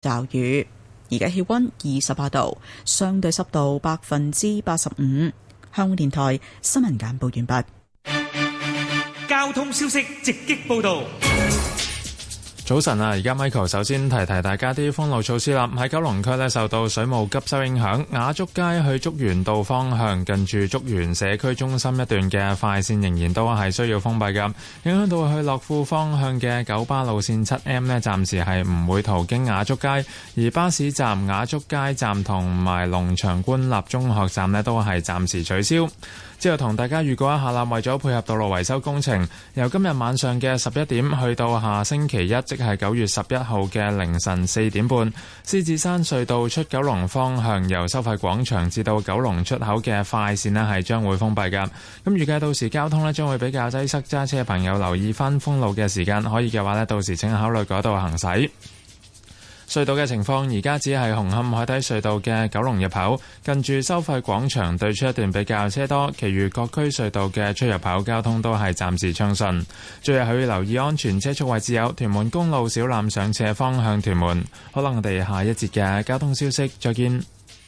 驟雨。而家氣溫28度，相對濕度85%。香港電台新聞簡報完畢。 交通消息直擊報道。 早晨啊，而家 Michael 首先提大家啲封路措施啦。喺九龍區呢，受到水務急修影響，雅竹街去竹園道方向近住竹園社區中心一段嘅快線仍然都係需要封閉㗎，影響到去樂富方向嘅九巴路線 7M 呢，暫時係唔會途經雅竹街，而巴士站雅竹街站同埋龍翔官立中學站呢，都係暫時取消。之後同大家預告一下啦，為咗配合道路維修工程，由今日晚上嘅11點去到下星期一，即係9月11號嘅凌晨4點半，獅子山隧道出九龍方向由收費廣場至到九龍出口嘅快線呢係將會封閉㗎。咁預計到時交通呢將會比較擠塞，揸車嘅朋友留意返封路嘅時間，可以嘅話呢，到時請考慮改道行駛。隧道嘅情況，而家只係紅磡海底隧道嘅九龍入口近住收費廣場對出一段比較車多，其餘各區隧道嘅出入口交通都係暫時暢順。最後要留意安全車速位置有屯門公路小欖上斜方向屯門。好啦，我哋下一節嘅交通消息再見。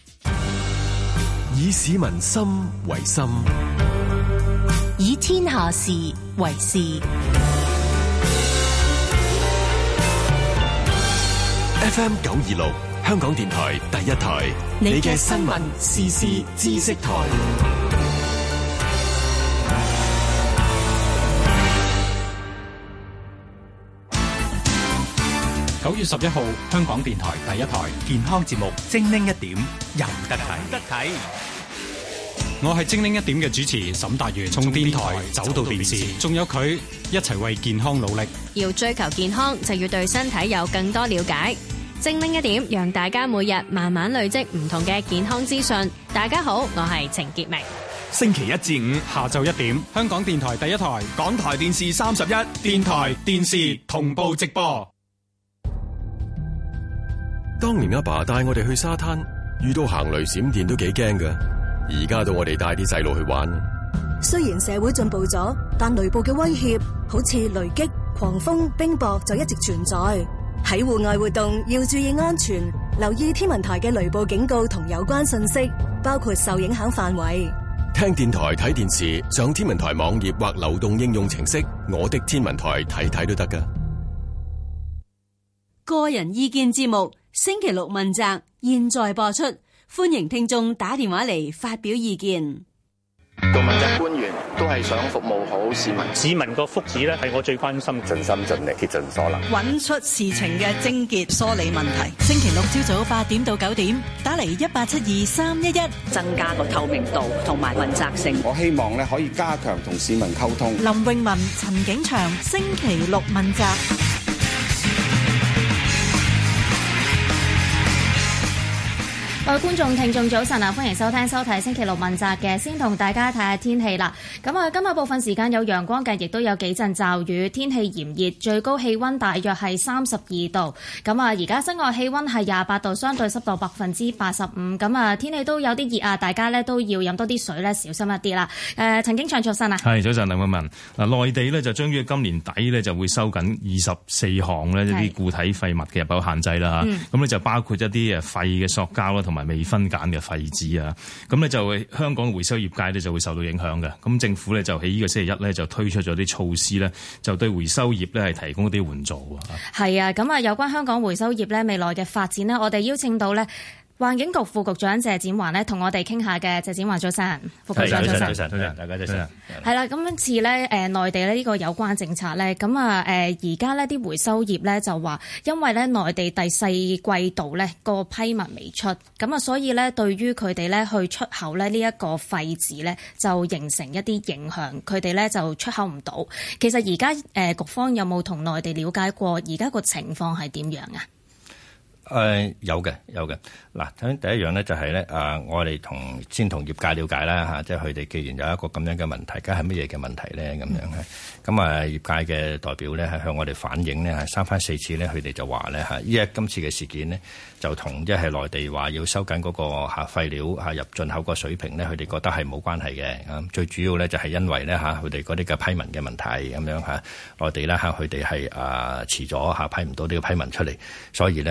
以市民心為心， 以天下事為事。 FM 926香港電台第一台，你嘅新聞時事知識台。 9月11號，香港電台第一台健康節目精靈一點，有得睇。我係精靈一點嘅主持沈達元，從電台走到電視，仲有佢一齊為健康努力。 要追求健康，就要對身體有更多了解。精靈一點，讓大家每日慢慢累積唔同嘅健康資訊。大家好，我係程潔明。 星期一至五下晝1點，香港電台第一台，港台電視31，電台電視同步直播。 當年阿爸帶我哋去沙灘，遇到行雷閃電都幾驚㗎。而家到我哋帶啲細路去玩。 雖然社會進步咗，但雷暴嘅威脅好似雷擊、狂風、冰雹就一直存在。喺戶外活動要注意安全，留意天文台嘅雷暴警告同有關信息，包括受影響範圍。 聽電台睇電視，上天文台網頁或流動應用程式我的天文台睇都得㗎。 個人意見節目星期六問責，現在播出，歡迎聽眾打電話嚟發表意見。 做問責官員都係想服務好市民， 市民個福祉咧係我最關心， 盡心盡力竭盡所能， 揾出事情嘅症結，梳理問題。星期六朝早8點到9點，打嚟1872-311， 增加個透明度同埋問責性。 我希望咧可以加強同市民溝通。 林詠雯、陳景祥，星期六問責。 各位觀眾、聽眾早晨啊，歡迎收聽收睇星期六問責嘅，先同大家睇下天氣啦。咁啊，今日部分時間有陽光嘅，亦都有幾陣驟雨，天氣炎熱，最高氣溫大約係32度。咁啊，而家室外氣溫係28度，相對濕度85%。咁啊，天氣都有啲熱啊，大家咧都要飲多啲水咧，小心一啲啦。陳景祥早晨啊， 係早晨，林詠雯。嗱，內地咧就將於今年底咧就會收緊24項咧一啲固體廢物嘅入口限制啦嚇。咁咧就包括一啲廢嘅塑膠啦，同埋未分揀嘅廢紙啊，咁咧就香港回收業界咧就會受到影響嘅。咁政府咧就喺呢個星期一咧就推出咗啲措施咧，就對回收業咧係提供一啲援助啊。 係啊，咁啊有關香港回收業咧未來嘅發展呢，我哋邀請到咧環境局副局長謝展寰呢，同我哋傾下嘅。謝展寰早晨，副局長早晨， 大家早晨。 係啦，咁今次咧內地咧呢個有關政策咧，咁啊而家呢啲回收業咧就話，因為咧內地第4季度咧個批文未出，咁啊所以咧對於佢哋咧去出口咧呢一個廢紙咧就形成一啲影響，佢哋咧就出口唔到。其實而家局方有冇同內地了解過而家個情況係點樣啊？ 有嘅。嗱，第一樣咧就係咧，我哋先同業界了解啦嚇，即係佢哋既然有一個咁樣嘅問題，梗係乜嘢嘅問題咧咁樣係。咁業界嘅代表咧係向我哋反映咧，三番四次咧，佢哋就話咧嚇，今次嘅事件呢，就同即係內地話要收緊嗰個廢料入進口個水平咧，佢哋覺得係冇關係嘅。最主要咧就係因為咧佢哋嗰啲嘅批文嘅問題咁樣內地咧佢哋係遲咗批唔到呢個批文出嚟，所以咧佢哋嗰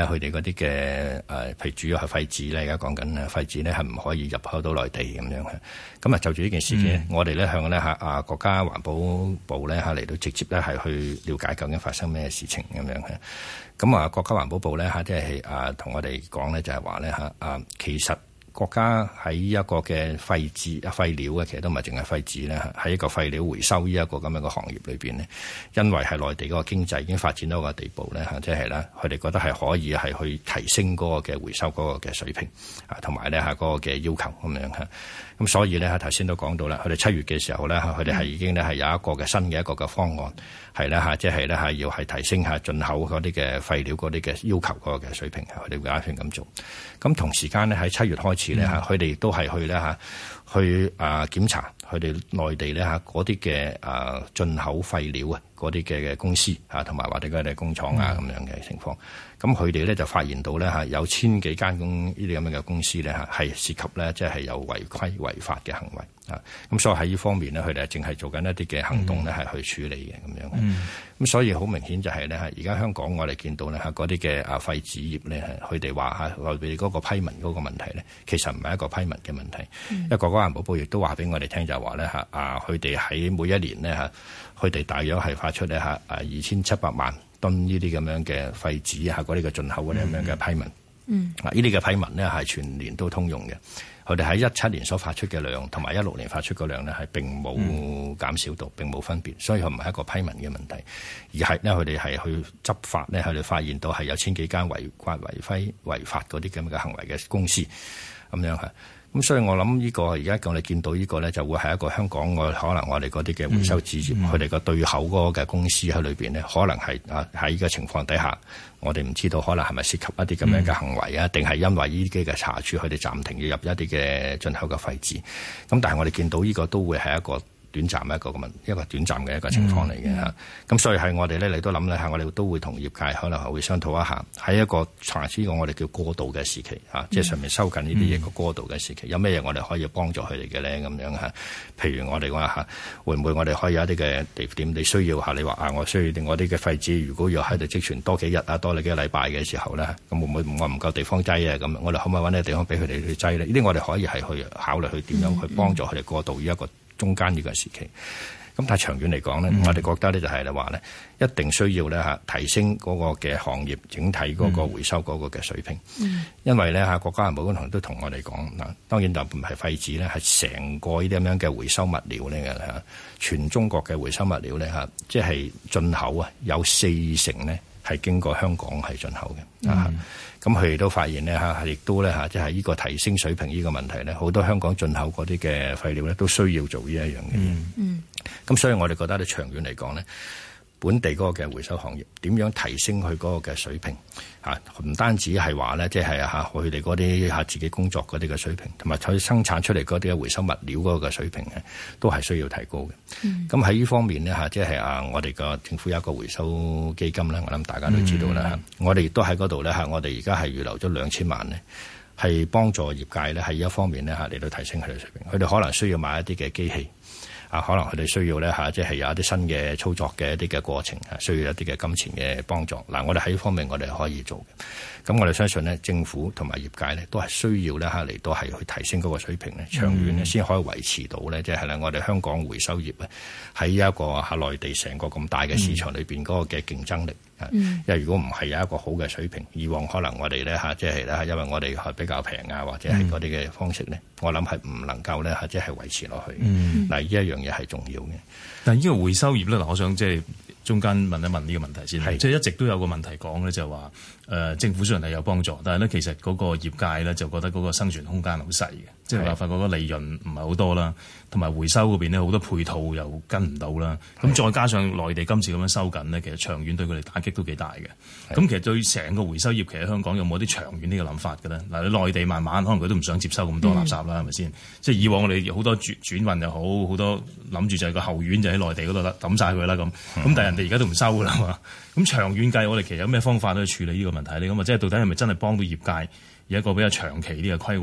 啲嘅譬如主要係廢紙咧，而家講緊廢紙咧係唔可以入口到內地咁樣嘅。咁啊就住呢件事件，我哋咧向咧國家環保部咧嚟到直接咧係去了解究竟發生咩事情咁樣嘅。咁國家環保部咧即係同我哋講咧就係話咧其實國家喺一個嘅廢料嘅，其實都唔係淨係廢紙咧，喺一個廢料回收呢一個咁樣嘅行業裏邊咧，因為係內地嗰個經濟已經發展到一個地步咧即係咧佢哋覺得係可以係去提升嗰個嘅回收嗰個嘅水平同埋咧嗰個嘅要求咁樣嚇。咁所以咧頭先都講到啦，佢哋7月嘅時候咧，佢哋係已經咧係有一個嘅新嘅一個嘅方案，係咧即係咧係要係提升進口嗰啲嘅廢料嗰啲嘅要求嗰個嘅水平，佢哋會打算咁做。咁同時間咧喺7月開始咧佢哋亦都係去咧去檢查佢哋內地咧嗰啲嘅進口廢料嗰啲嘅公司同埋或者佢哋工廠咁樣嘅情況。咁佢哋咧就發現到咧有1000幾間呢啲咁樣嘅公司咧係涉及咧即係有違規違法嘅行為咁所以喺呢方面咧佢哋淨係做緊一啲嘅行動咧係去處理嘅咁樣。咁所以好明顯就係咧而家香港我哋見到咧嗰啲嘅廢紙業咧，佢哋話內地嗰個批文嗰個問題咧，其實唔係一個批文嘅問題。因為國家環保部亦都話俾我哋聽就係話咧佢哋喺每一年咧佢哋大約係發出咧2700萬噸呢啲咁樣嘅廢紙嗰啲嘅進口嗰啲咁樣嘅批文。呢啲嘅批文咧係全年都通用嘅。佢哋喺17年所發出嘅量同埋16年發出嘅量咧係並冇減少到，並冇分別，所以佢唔係一個批文嘅問題，而係咧佢哋係去執法咧，佢哋發現到係有1000幾間違規違法嗰啲咁嘅行為嘅公司咁樣嚇。咁所以我諗呢個而家我哋見到呢個咧，就會係一個香港可能我哋嗰啲嘅回收紙業，佢哋個對口嗰個嘅公司喺裏邊咧，可能係喺呢個情況底下，我哋唔知道可能係咪涉及一啲咁樣嘅行為啊，定係因為呢啲嘅查處，佢哋暫停要入一啲嘅進口嘅廢紙。咁但係我哋見到呢個都會係一個短暫一個短暫嘅一個情況嚟嘅嚇。咁所以係我哋咧，你都諗咧嚇，我哋都會同業界可能係會商討一下，喺一個查處呢個我哋叫過渡嘅時期嚇，即係上面收緊呢啲嘢個過渡嘅時期，有咩嘢我哋可以幫助佢哋嘅咧咁樣嚇？譬如我哋話嚇，會唔會我哋可以有一啲嘅地點你需要嚇？你話我需要定我啲嘅廢紙，如果要喺度積存多幾日多你幾個禮拜嘅時候咧，咁會唔會我唔夠地方擠啊？咁我哋可唔可以揾啲地方俾佢哋去擠咧？呢啲我哋可以係去考慮去點樣去幫助佢哋過渡呢一個中間呢個時期。咁但係長遠嚟講咧，我哋覺得咧就係話咧，一定需要咧提升嗰個嘅行業整體嗰個回收嗰個嘅水平。因為咧國家環保局都同我哋講嗱，當然就唔係廢紙咧，係成個呢啲咁樣嘅回收物料咧全中國嘅回收物料咧即係進口有40%咧係經過香港係進口嘅。咁佢哋都發現咧亦都咧即係呢個提升水平呢個問題咧，好多香港進口嗰啲嘅廢料咧都需要做呢一樣嘅。咁所以我哋覺得咧長遠嚟講咧，本地嗰個嘅回收行業點樣提升佢嗰個嘅水平唔單止係話咧，即係佢哋嗰啲自己工作嗰啲嘅水平，同埋佢生產出嚟嗰啲嘅回收物料嗰個嘅水平咧，都係需要提高嘅。咁喺呢方面咧即係我哋個政府有一個回收基金啦，我諗大家都知道啦。我哋亦都喺嗰度咧我哋而家係預留咗2000萬咧，係幫助業界咧喺一方面咧嚟到提升佢哋水平。佢哋可能需要買一啲嘅機器。可能佢哋需要咧即係有一啲新嘅操作嘅一啲嘅過程，需要一啲嘅金錢嘅幫助。我哋喺呢方面我哋可以做嘅。咁我哋相信咧，政府同埋業界咧都係需要咧嚟到係去提升嗰個水平咧，長遠咧先可以維持到咧，即係咧我哋香港回收業咧喺一個內地成個咁大嘅市場裏邊嗰個嘅競爭力。因為如果唔係有一個好嘅水平，以往可能我哋咧即係咧，因為我哋係比較平或者係嗰啲嘅方式咧，我諗係唔能夠咧即係維持落去。呢一樣嘢係重要嘅。 但係呢個回收業咧，我想即係中間問一問呢個問題先。即係一直都有個問題講咧，就係話政府雖然係有幫助，但係咧其實嗰個業界咧就覺得嗰個生存空間好細嘅，即係話發覺個利潤唔係好多啦，同埋回收嗰邊咧好多配套又跟唔到啦。咁再加上內地今次咁樣收緊咧，其實長遠對佢哋打擊都幾大嘅。咁其實對成個回收業，其實香港有冇啲長遠呢個諗法嘅咧？嗱，你內地慢慢可能佢都唔想接收咁多垃圾啦，係咪先？即係以往我哋好多轉運又好，好多諗住就係個後院就喺內地嗰度啦，抌晒佢啦咁。咁但係人哋而家都唔收㗎啦嘛。咁長遠計，我哋其實有咩方法去處理呢個問題咧？咁啊，即係到底係咪真係幫到業界有一個比較長期啲嘅規劃，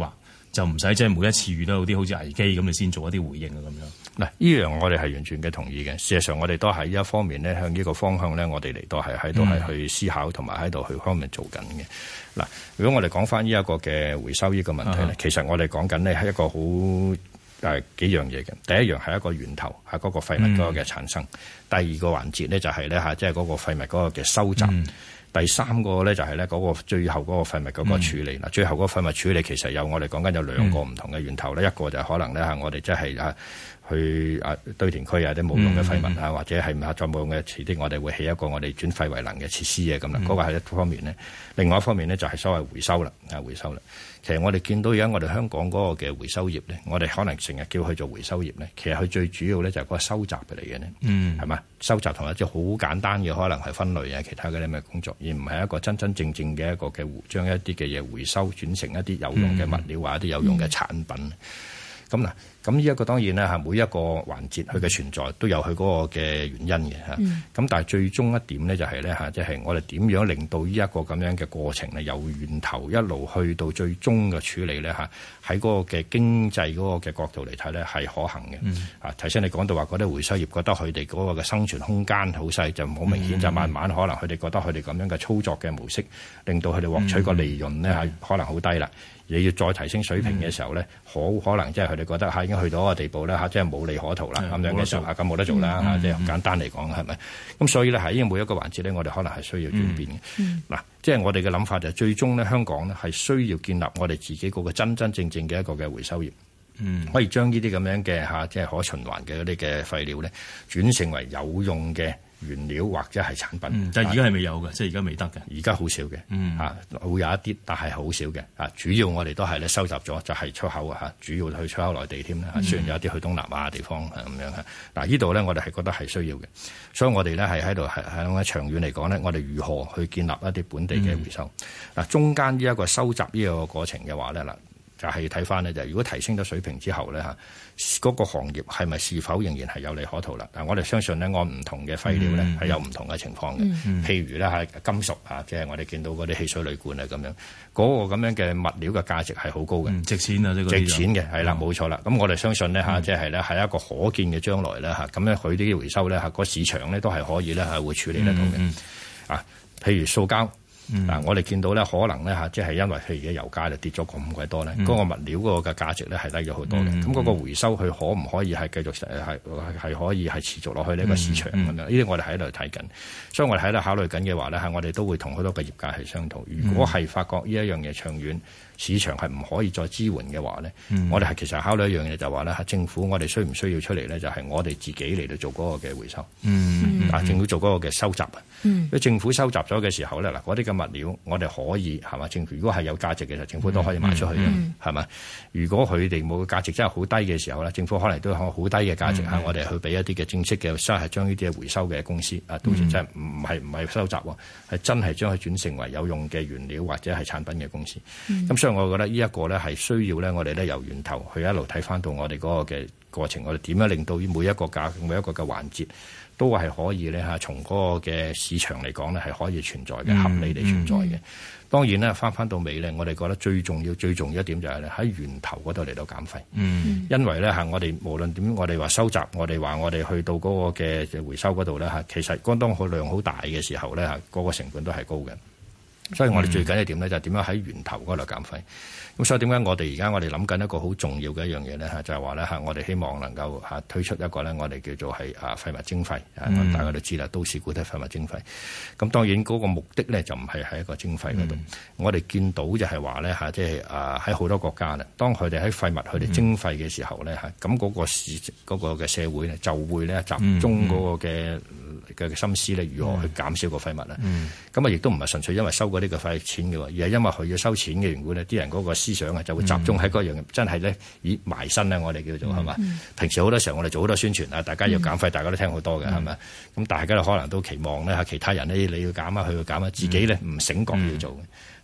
就唔使即係每一次遇到啲好似危機咁，你先做一啲回應啊咁樣。 嗱，呢樣我哋係完全嘅同意嘅。事實上，我哋都喺一方面咧，向呢個方向咧，我哋嚟到係喺度係去思考，同埋喺度去方面做緊嘅。嗱，如果我哋講翻呢一個嘅回收呢個問題咧，其實我哋講緊呢係一個好幾樣嘢嘅。第一樣係一個源頭，係嗰個廢物嗰個嘅產生。第二個環節咧就係咧即係嗰個廢物嗰個嘅收集。第三個咧就係咧嗰個最後嗰個廢物嗰個處理。最後嗰個廢物處理其實我哋講緊有兩個唔同嘅源頭咧，一個就可能咧我哋即係去堆填區啲冇用嘅廢物或者係再冇用嘅，遲啲我哋會起一個我哋轉廢為能嘅設施咁啦。嗰個係一方面咧，另外一方面咧就係所謂回收啦，回收啦。其實我哋見到而家我哋香港嗰個嘅回收業咧，我哋可能成日叫佢做回收業咧，其實佢最主要咧就係嗰個收集嚟嘅咧，係嘛？收集同埋即係好簡單嘅，可能係分類其他嘅啲咩工作，而唔係一個真真正正嘅一個嘅將一啲嘅嘢回收轉成一啲有用嘅物料或者一啲有用嘅產品。咁呢一個當然咧每一個環節佢嘅存在都有佢嗰個嘅原因嘅咁但係最終一點咧就係咧即係我哋點樣令到呢一個咁樣嘅過程咧，由源頭一路去到最終嘅處理咧喺嗰個嘅經濟嗰個嘅角度嚟睇咧係可行嘅。頭先你講到話嗰啲回收業覺得佢哋嗰個嘅生存空間好細，就好明顯就慢慢可能佢哋覺得佢哋咁樣嘅操作嘅模式，令到佢哋獲取個利潤咧係可能好低啦。你要再提升水平嘅時候咧，好可能即係佢哋覺得已經去到一個地步咧即係無利可圖啦咁樣嘅時候咁冇得做啦即係簡單嚟講係咪？咁所以咧喺每一個環節咧，我哋可能係需要轉變嘅。嗱，即係我哋嘅諗法就係最終咧，香港咧係需要建立我哋自己嗰個真真正正嘅一個嘅回收業，可以將呢啲咁樣嘅即係可循環嘅嗰啲嘅廢料咧，轉成為有用嘅原料或者係產品。 但係而家係未有嘅，即係而家未得嘅。 而家好少嘅，會有一啲，但係好少嘅。主要我哋都係咧收集咗，就係出口主要去出口內地添啦。雖然有一啲去東南亞地方咁樣嗱，呢度咧我哋係覺得係需要嘅，所以我哋咧係喺度係長遠嚟講咧，我哋如何去建立一啲本地嘅回收？中間呢一個收集呢個過程嘅話咧就係睇翻咧，就如果提升咗水平之後咧嗰個行業係咪是否仍然係有利可圖啦？我哋相信咧，按唔同嘅廢料咧係有唔同嘅情況嘅。譬如咧係金屬即係我哋見到嗰啲汽水鋁罐啊咁樣，嗰個咁樣嘅物料嘅價值係好高嘅， 值錢啊！ 值錢嘅係啦，冇錯啦。咁我哋相信咧即係咧係一個可見嘅將來咧咁樣佢啲回收咧個市場咧都係可以咧係會處理得到嘅。譬如塑膠。我哋見到咧，可能咧即係因為譬如而家油價就跌咗咁鬼多咧，嗰個物料嗰個嘅價值咧係低咗好多嘅。咁嗰個回收佢可唔可以係繼續係可以係持續落去呢個市場咁樣？呢啲我哋喺度睇緊，所以我哋喺度考慮緊嘅話咧，我哋都會同好多嘅業界係商討。如果係發覺呢一樣嘢長遠市場係唔可以再支援嘅話咧，我哋係其實考慮一樣嘢就係話咧，政府我哋需唔需要出嚟咧？就係我哋自己嚟到做嗰個嘅回收。政府做嗰個嘅收集啊。如果政府收集咗嘅時候咧，嗰啲嘅物料我哋可以係嘛？政府如果係有價值嘅，政府都可以賣出去嘅，係嘛？如果佢哋冇價值真係好低嘅時候咧，政府可能都有好低嘅價值我哋去俾一啲嘅正式嘅，真係將呢啲嘅回收嘅公司到時真係唔係收集喎，係真係將佢轉成為有用嘅原料或者係產品嘅公司。咁所以我覺得呢一個咧係需要咧，我哋咧由源頭去一路睇翻到我哋嗰個嘅過程，我哋點樣令到每一個嘅環節都係可以咧從嗰個嘅市場嚟講咧係可以存在嘅，合理地存在嘅。當然咧，翻到尾咧，我哋覺得最重要一點就係咧喺源頭嗰度嚟到減廢。因為咧我哋無論點，我哋話收集，我哋話我哋去到嗰個嘅回收嗰度咧其實當個量好大嘅時候咧嗰個成本都係高嘅。所以我哋最緊要點咧就係點樣喺源頭嗰度減廢。咁所以點解我哋而家我哋諗緊一個好重要嘅一樣嘢咧就係話咧我哋希望能夠推出一個咧我哋叫做係廢物徵費。大家都知啦，都市固體廢物徵費。咁當然嗰個目的咧就唔係喺一個徵費嗰度。我哋見到就係話咧即係喺好多國家咧，當佢哋喺廢物佢哋徵費嘅時候咧咁嗰個嘅社會咧就會咧集中嗰個嘅心思咧如何去減少個廢物啦。咁亦都唔係純粹因為收嗰啲嘅廢錢嘅，而係因為佢要收錢嘅緣故咧，啲人嗰個思想就會集中喺嗰樣真係咧埋身我哋叫做係嘛。平時好多時候我哋做好多宣傳大家要減廢，大家都聽好多嘅係咪？咁大家可能都期望咧其他人咧你要減啊，佢要減啊，自己咧唔醒覺要做嘅。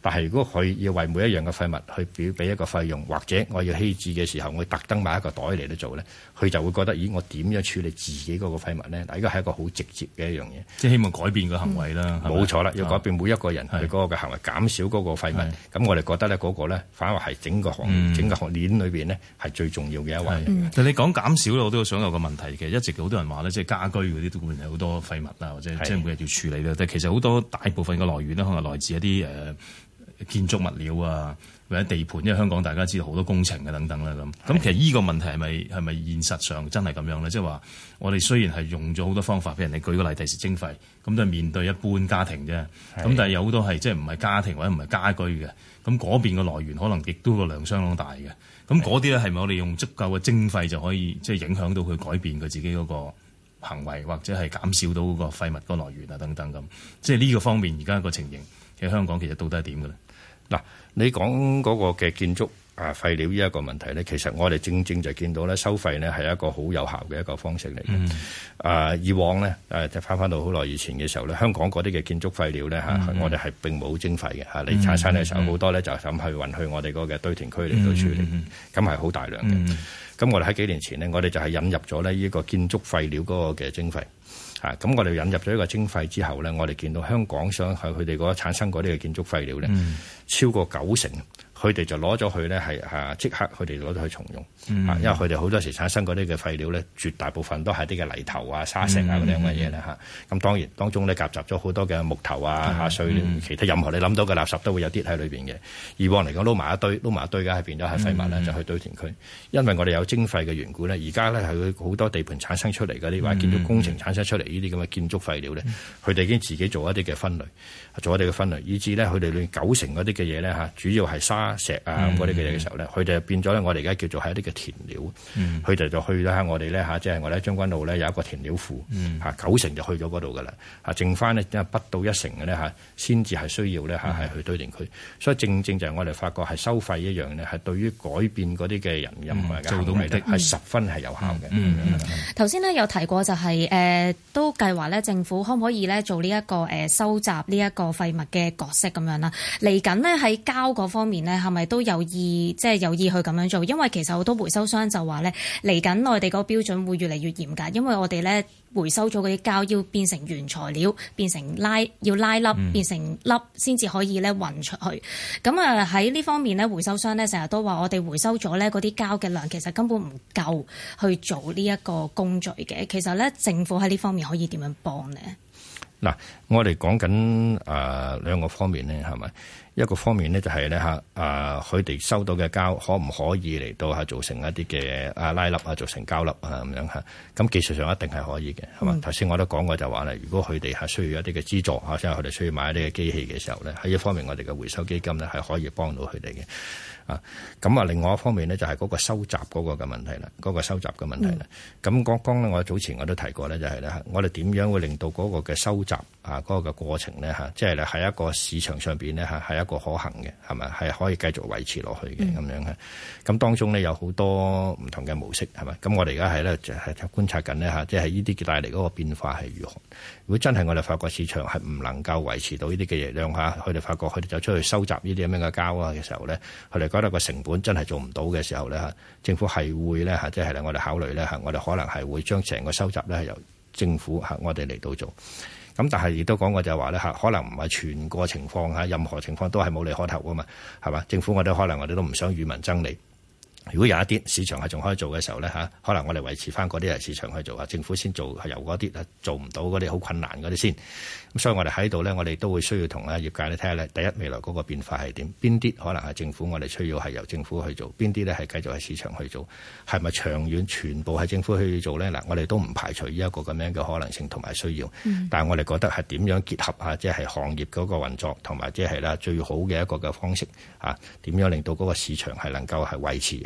但係如果佢要為每一樣嘅廢物去俾一個費用，或者我要棄置嘅時候，我特登買一個袋嚟到做咧，佢就會覺得，咦，我點樣處理自己嗰個廢物咧？嗱，呢個係一個好直接嘅一樣嘢， 即係希望改變個行為啦。 冇錯啦，要改變每一個人佢嗰個嘅行為，減少嗰個廢物。咁我哋覺得咧，嗰個咧反而係整個行鏈裏邊咧係最重要嘅一環。 但你講減少咧，我都想有個問題嘅，一直好多人話咧，即係家居嗰啲都會有好多廢物啊，或者即係每日要處理咧。但係其實好多大部分嘅來源咧，可能來自一啲建築物料啊，或者地盤，因為香港大家知道好多工程嘅等等啦咁。咁其實呢個問題係咪現實上真係咁樣咧？即係話我哋雖然係用咗好多方法，俾人哋舉個例，第時徵費，咁都係面對一般家庭啫。咁但係有好多係即係唔係家庭或者唔係家居嘅，咁嗰邊嘅來源可能亦都個量相當大嘅。咁嗰啲咧係咪我哋用足夠嘅徵費就可以即係影響到佢改變佢自己嗰個行為，或者係減少到嗰個廢物個來源啊等等咁？即係呢個方面而家個情形喺香港其實到底係點嘅咧？ 嗱，你講嗰個嘅建築廢料呢一個問題咧，其實我哋正就見到咧，收費咧係一個好有效嘅一個方式嚟嘅。以往咧就翻到好耐以前嘅時候咧，香港嗰啲嘅建築廢料咧我哋係並冇徵費嘅你產生嘅時候好多咧就咁去運去我哋嗰個堆填區嚟到處理，咁係好大量嘅。咁我哋喺幾年前呢，我哋就係引入咗呢個建築廢料嗰個嘅徵費。咁我哋引入咗呢個徵費之後咧，我哋見到香港上係佢哋嗰產生嗰啲嘅建築廢料咧，超過90%。佢哋就攞咗去咧，係即刻佢哋攞咗去重用，因為佢哋好多時產生嗰啲嘅廢料咧，絕大部分都係啲嘅泥頭啊、沙石啊嗰啲咁嘅嘢咧嚇。咁當然當中咧夾雜咗好多嘅木頭啊、碎料，其他任何你諗到嘅垃圾都會有啲喺裏邊嘅。以往嚟講撈埋一堆嘅係變咗係廢物咧，就去堆填區。因為我哋有徵費嘅緣故咧，而家咧係佢好多地盤產生出嚟嗰啲或者建築工程產生出嚟呢啲咁嘅建築廢料咧，佢哋已經自己做一啲嘅分類，以至咧佢哋裏90%嗰啲嘅嘢咧嚇，主要係沙石啊嗰啲嘅嘢嘅時候咧，佢哋變咗咧，我哋而家叫做係一啲嘅填料，佢哋就去咗喺我哋咧嚇，即係我哋喺將軍澳咧有一個填料庫嚇，90%就去咗嗰度噶啦嚇，剩翻咧不到1成嘅咧嚇，先至係需要咧嚇係去堆填區，所以正就係我哋發覺係收費一樣咧，係對於改變嗰啲嘅人任何嘅行為咧係十分係有效嘅。 頭先咧有提過就係都計劃咧政府可唔可以咧做呢一個收集呢一個廢物嘅角色咁樣啦？嚟緊呢喺膠嗰方面呢，係咪都有意去咁樣做？因為其實好多回收商就話咧，嚟緊內地嗰個標準會越嚟越嚴格，因為我哋咧回收咗嗰啲膠要變成原材料，變成要拉粒，變成粒先至可以咧運出去。咁啊喺呢方面咧，回收商咧成日都話我哋回收咗咧嗰啲膠嘅量其實根本唔夠去做呢一個工序嘅。其實咧政府喺呢方面可以點樣幫呢？ 嗱，我哋講緊兩個方面咧，係咪？一個方面咧就係咧佢哋收到嘅膠可唔可以嚟到做成一啲嘅拉粒啊，做成膠粒啊咁樣嚇？咁技術上一定係可以嘅，係嘛？頭先我都講過就話咧，如果佢哋係需要一啲嘅資助即係佢哋需要買一啲嘅機器嘅時候咧，喺一方面我哋嘅回收基金咧係可以幫到佢哋嘅。咁另外一方面呢，就係嗰個收集嗰個嘅問題啦，嗰個收集嘅問題啦。咁剛剛咧，我早前我都提過咧，就係咧，我哋點樣會令到嗰個嘅收集嗰個嘅過程咧即係喺一個市場上邊咧係一個可行嘅，係咪？係可以繼續維持落去嘅咁樣嘅。咁當中呢，有好多唔同嘅模式，係咪？咁我哋而家係咧就係觀察緊呢，即係呢啲帶嚟嗰個變化係如何。如果真係我哋發覺市場係唔能夠維持到呢啲嘅嘢量佢哋發覺佢哋就出去收集呢啲咁樣嘅膠嘅時候咧，佢哋覺得個成本真係做唔到嘅時候咧，政府係會咧即係我哋考慮咧我哋可能係會將成個收集咧係由政府我哋嚟到做。咁但係亦都講過就係話咧可能唔係全個情況任何情況都係冇利可圖㗎嘛，係嘛？政府我哋可能我哋都唔想與民爭利。如果有一啲市場係仲可以做嘅時候咧可能我哋維持翻嗰啲係市場去做政府先做係由嗰啲做唔到嗰啲好困難嗰啲先。咁所以我哋喺度咧，我哋都會需要同業界咧睇下咧，第一未來嗰個變化係點？邊啲可能係政府我哋需要係由政府去做？邊啲咧係繼續係市場去做？係咪長遠全部係政府去做咧？嗱，我哋都唔排除呢一個咁樣嘅可能性同埋需要。但係我哋覺得係點樣結合即係行業嗰個運作同埋即係最好嘅一個嘅方式點樣令到嗰個市場係能夠係維持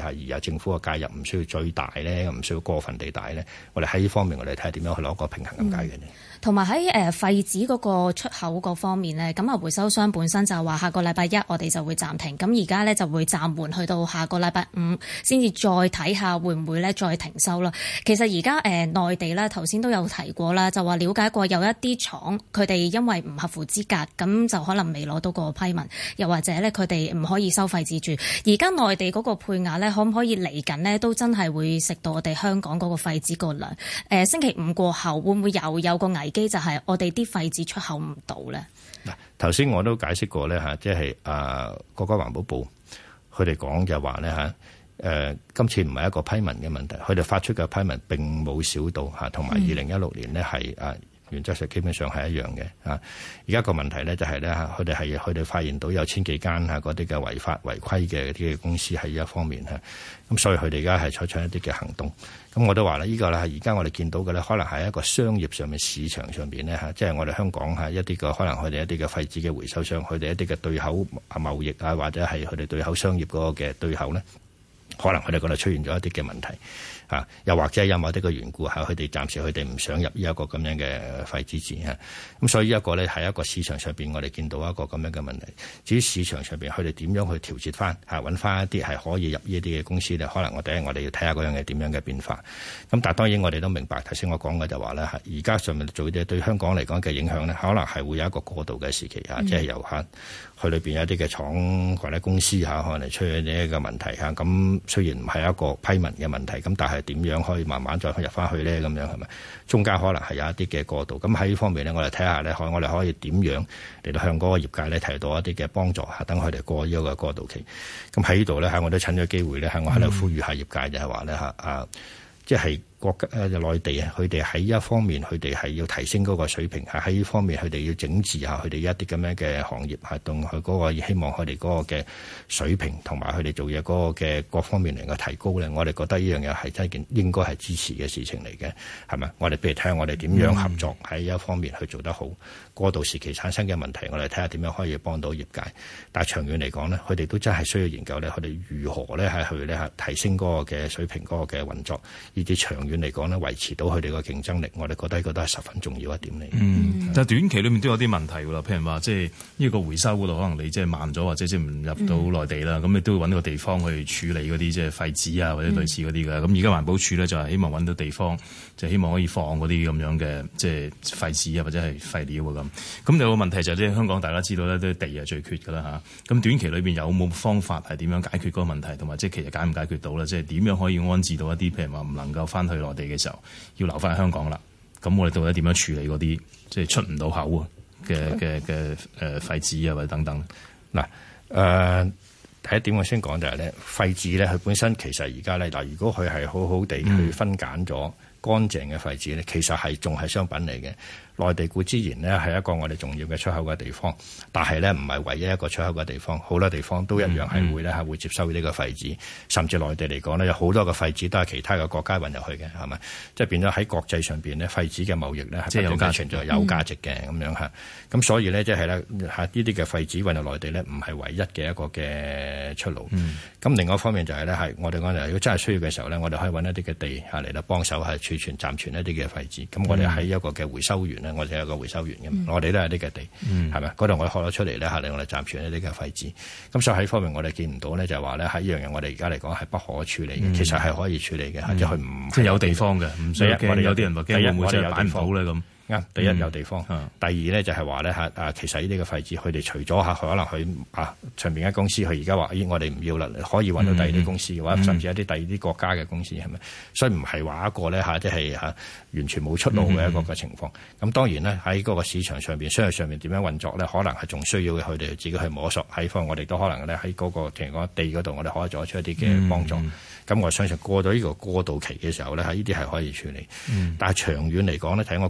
而有政府嘅介入唔需要最大咧，唔需要過分地大咧。我哋喺呢方面，我哋睇下點樣去攞個平衡咁解嘅呢。 同埋喺廢紙嗰個出口嗰方面呢，咁回收商本身就話下個禮拜一我哋就會暫停，咁而家呢就會暫緩去到下個禮拜五先至再睇下會唔會呢再停收啦。其實而家內地呢頭先都有提過啦，就話了解過有一啲廠佢哋因為唔合乎資格，咁就可能未攞到個批文，又或者呢佢哋唔可以收廢紙住。而家內地嗰個配額呢，可唔可以嚟緊呢都真係會食到我哋香港嗰個廢紙個量？星期五過後會唔會又有個危機，就係我哋啲廢紙出口唔到咧？ 嗱，頭先我都解釋過咧嚇，即係國家環保部佢哋講就話咧嚇，今次唔係一個批文嘅問題，佢哋發出嘅批文並冇少到嚇，同埋2016年呢係原則上基本上係一樣嘅嚇。而家個問題咧就係咧嚇，佢哋發現到有千幾間嗰啲嘅違法違規嘅啲嘅公司喺呢一方面嚇，咁所以佢哋而家係採取一啲嘅行動。咁我都話啦，呢個咧係而家我哋見到嘅咧，可能係一個商業上面、市場上邊咧嚇，即係我哋香港係一啲嘅可能佢哋一啲嘅廢紙嘅回收商，佢哋一啲嘅對口貿易啊，或者係佢哋對口商業嗰個嘅對口咧，可能佢哋嗰度出現咗一啲嘅問題。又或者因為啲個緣故佢哋暫時佢哋唔想入呢一個咁樣嘅廢紙紙嚇，咁所以呢一個咧係一個市場上邊我哋見到一個咁樣嘅問題。至於市場上邊佢哋點樣去調節翻揾翻一啲係可以入呢啲嘅公司咧，可能我哋要睇下嗰樣嘢點樣嘅變化。咁但係當然我哋都明白頭先我講嘅就話咧而家上面做啲對香港嚟講嘅影響咧，可能係會有一個過渡嘅時期即係由佢裏邊有一啲嘅廠或者公司可能出現呢一個問題咁雖然唔係一個批文嘅問題，咁但係點樣可以慢慢再入翻去咧？咁樣係咪？中間可能係有一啲嘅過渡。咁喺呢方面咧，我哋睇下咧，我哋可以點樣嚟到向嗰個業界咧提到一啲嘅幫助等佢哋過呢一個過渡期。咁喺呢度咧，我都趁咗機會咧，我喺度呼籲下業界就係話咧即係國家內地佢哋喺一方面佢哋係要提升嗰個水平，喺呢方面佢哋要整治下佢哋一啲咁樣嘅行業同佢嗰個希望佢哋嗰個嘅水平同埋佢哋做嘢嗰個嘅各方面嚟嘅提高咧，我哋覺得呢樣嘢係真係件應該係支持嘅事情嚟嘅，係咪？我哋譬如睇下我哋點樣合作喺一方面去做得好，過渡時期產生嘅問題，我哋睇下點樣可以幫到業界。但係長遠嚟講咧，佢哋都真係需要研究咧，佢哋如何咧係去咧提升嗰個嘅水平嗰個嘅運作，以至長遠嚟講咧，維持到佢哋個競爭力，我哋覺得呢個都係十分重要一點嚟。 但係短期裏面都有啲問題㗎啦，譬如話即係呢個回收嗰度，可能你即係慢咗，或者即係唔入到內地啦，咁你都會揾個地方去處理嗰啲即係廢紙啊，或者類似嗰啲嘅。咁而家環保署咧就係希望揾到地方，就希望可以放嗰啲咁樣嘅即係廢紙啊，或者係廢料啊咁。咁有個問題就係即係香港大家知道咧，都地係最缺㗎啦嚇。咁短期裏邊有冇方法係點樣解決嗰個問題，同埋即係其實解唔解決到咧？即係點樣可以安置到一啲譬如話唔能夠翻去內地嘅時候，要留翻喺香港啦。咁我哋到底點樣處理嗰啲即係出唔到口嘅廢紙啊，或者等等？ 嗱第一點我先講就係咧，廢紙咧佢本身其實而家咧如果佢係好好地去分揀咗乾淨嘅廢紙咧，其實係仲係商品嚟嘅。內地固之然呢係一個我哋重要嘅出口嘅地方，但係呢唔係唯一一個出口嘅地方，好多地方都一樣係會呢係會接收呢個廢紙，甚至內地嚟講呢，有好多嘅廢紙都係其他嘅國家運入去嘅，係咪？即係變咗喺國際上邊呢，廢紙嘅貿易呢係不斷存在有價值嘅咁樣嚇。咁所以呢，即係呢啲嘅廢紙運入內地呢，唔係唯一嘅一個嘅出路。咁另外一方面就係呢，係我哋講如果真係需要嘅時候呢，我哋可以揾一啲嘅地嚟到幫手係儲存暫存一啲嘅廢紙。咁我哋喺一個嘅回收園我哋有個回收園嘅，我哋都係呢個地，係咪？嗰度我哋開咗出嚟咧，令我哋暫存一啲嘅廢紙。咁所以喺方面我哋見唔到咧，就係話咧喺呢樣嘢，我哋而家嚟講係不可處理嘅。其實係可以處理嘅，即係佢唔即係有地方嘅，唔使驚。我哋有啲人話驚會唔會即係擺唔好咧咁。 第一有地方，第二咧就係話咧其實呢啲嘅廢紙，佢哋除咗可能佢上邊間公司，佢而家話我哋唔要啦，可以揾到第二啲公司，或者甚至一啲第二啲國家嘅公司係咪？所以唔係話一個咧即係完全冇出路嘅一個嘅情況。咁當然咧喺嗰個市場上邊、商業上面點樣運作咧，可能係仲需要佢哋自己去摸索。喺方我哋都可能咧喺嗰個譬如講地嗰度，我哋可以做出一啲嘅幫助。咁我相信過到呢個過渡期嘅時候咧，呢啲係可以處理。但係長遠嚟講咧，睇我講個問題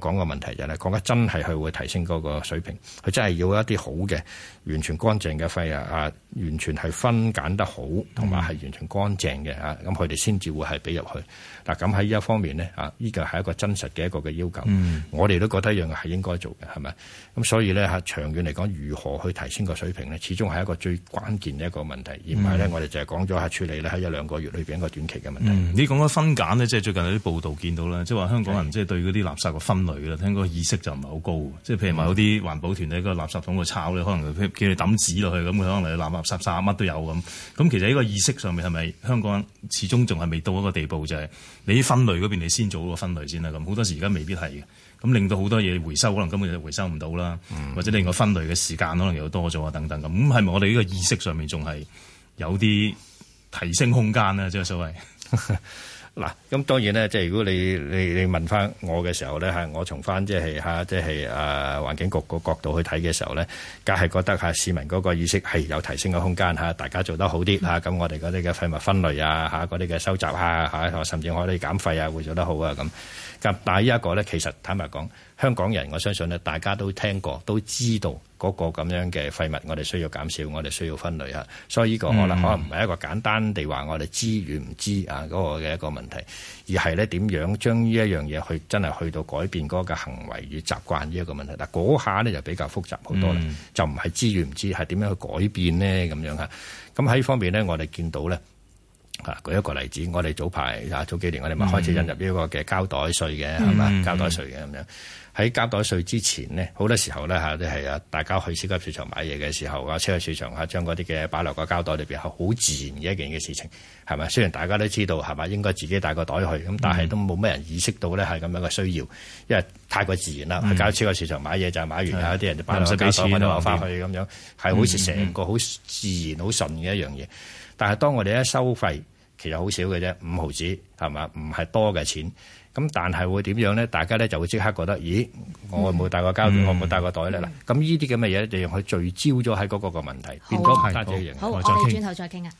題就係講緊真係佢會提升嗰個水平，佢真係要一啲好嘅完全乾淨嘅肺完全係分揀得好，同埋係完全乾淨嘅咁佢哋先至會係俾入去。嗱，咁喺呢一方面呢，呢個係一個真實嘅一個嘅要求。我哋都覺得一樣係應該做嘅，係咪？咁所以呢，長遠嚟講，如何去提升個水平呢？始終係一個最關鍵嘅一個問題，而唔係呢，我哋就係講咗處理咧喺1-2個月裏邊一個短期嘅問題。 你講緊分揀呢，即係最近有啲報道見到啦，即係話香港人即係對嗰啲垃圾嘅分類啦，聽個意識就唔係好高。即係譬如話有啲環保團喺個垃圾桶度抄咧，可能叫你抌紙落去咁，佢可能嚟垃圾乜都有咁。咁其實呢個意識上面係咪香港人始終仲係未到一個地步，就係你啲分類嗰邊你先做個分類先啦。咁好多時而家未必係嘅，咁令到好多嘢回收可能根本就回收唔到啦，或者令個分類嘅時間可能又多咗啊等等咁。咁係咪我哋呢個意識上面仲係有啲提升空間呢？即係所謂嗱，咁當然咧，即係如果你問翻我嘅時候咧，我從翻即係環境局個角度去睇嘅時候咧，梗係覺得市民嗰個意識係有提升嘅空間，大家做得好啲咁我哋嗰啲嘅廢物分類嗰啲嘅收集甚至可以減廢會做得好啊咁。但係呢一個咧，其實坦白講，香港人我相信咧，大家都聽過，都知道嗰個咁樣嘅廢物，我哋需要減少，我哋需要分類嚇。所以呢個可能唔係一個簡單地話我哋知與唔知嗰個嘅一個問題，而係咧點樣將呢一樣嘢去真係去到改變嗰個行為與習慣呢一個問題。嗱，嗰下咧就比較複雜好多啦，就唔係知與唔知，係點樣去改變呢？咁樣嚇。咁喺呢方面呢，我哋見到咧。舉一個例子，我哋早幾年我哋咪開始引入呢個嘅膠袋稅嘅，係嘛？膠袋稅嘅咁樣。喺膠袋稅之前呢，好多時候咧即係大家去超級市場買嘢嘅時候超級市場將嗰啲嘅擺落個膠袋裏邊係好自然嘅一件嘅事情，係咪？雖然大家都知道係咪應該自己帶個袋去，咁但係都冇咩人意識到咧係咁樣嘅需要，因為太過自然啦。去超級市場買嘢就係買完，有啲人就擺落個膠袋，我就攞翻去咁樣，係好似成個好自然、好順嘅一樣嘢。但係當我哋一收費，其實好少嘅啫，5毫子係嘛，唔係多嘅錢。咁但係會點樣咧？大家咧就會即刻覺得，咦，我冇帶個膠袋，我冇帶個袋咧。嗱，咁呢啲咁嘅嘢，就讓佢聚焦咗喺嗰個問題，變咗唔單止一樣。 好，我哋轉頭再傾啊。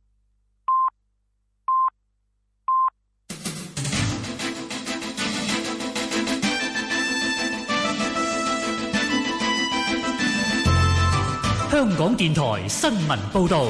香港電台新聞報導。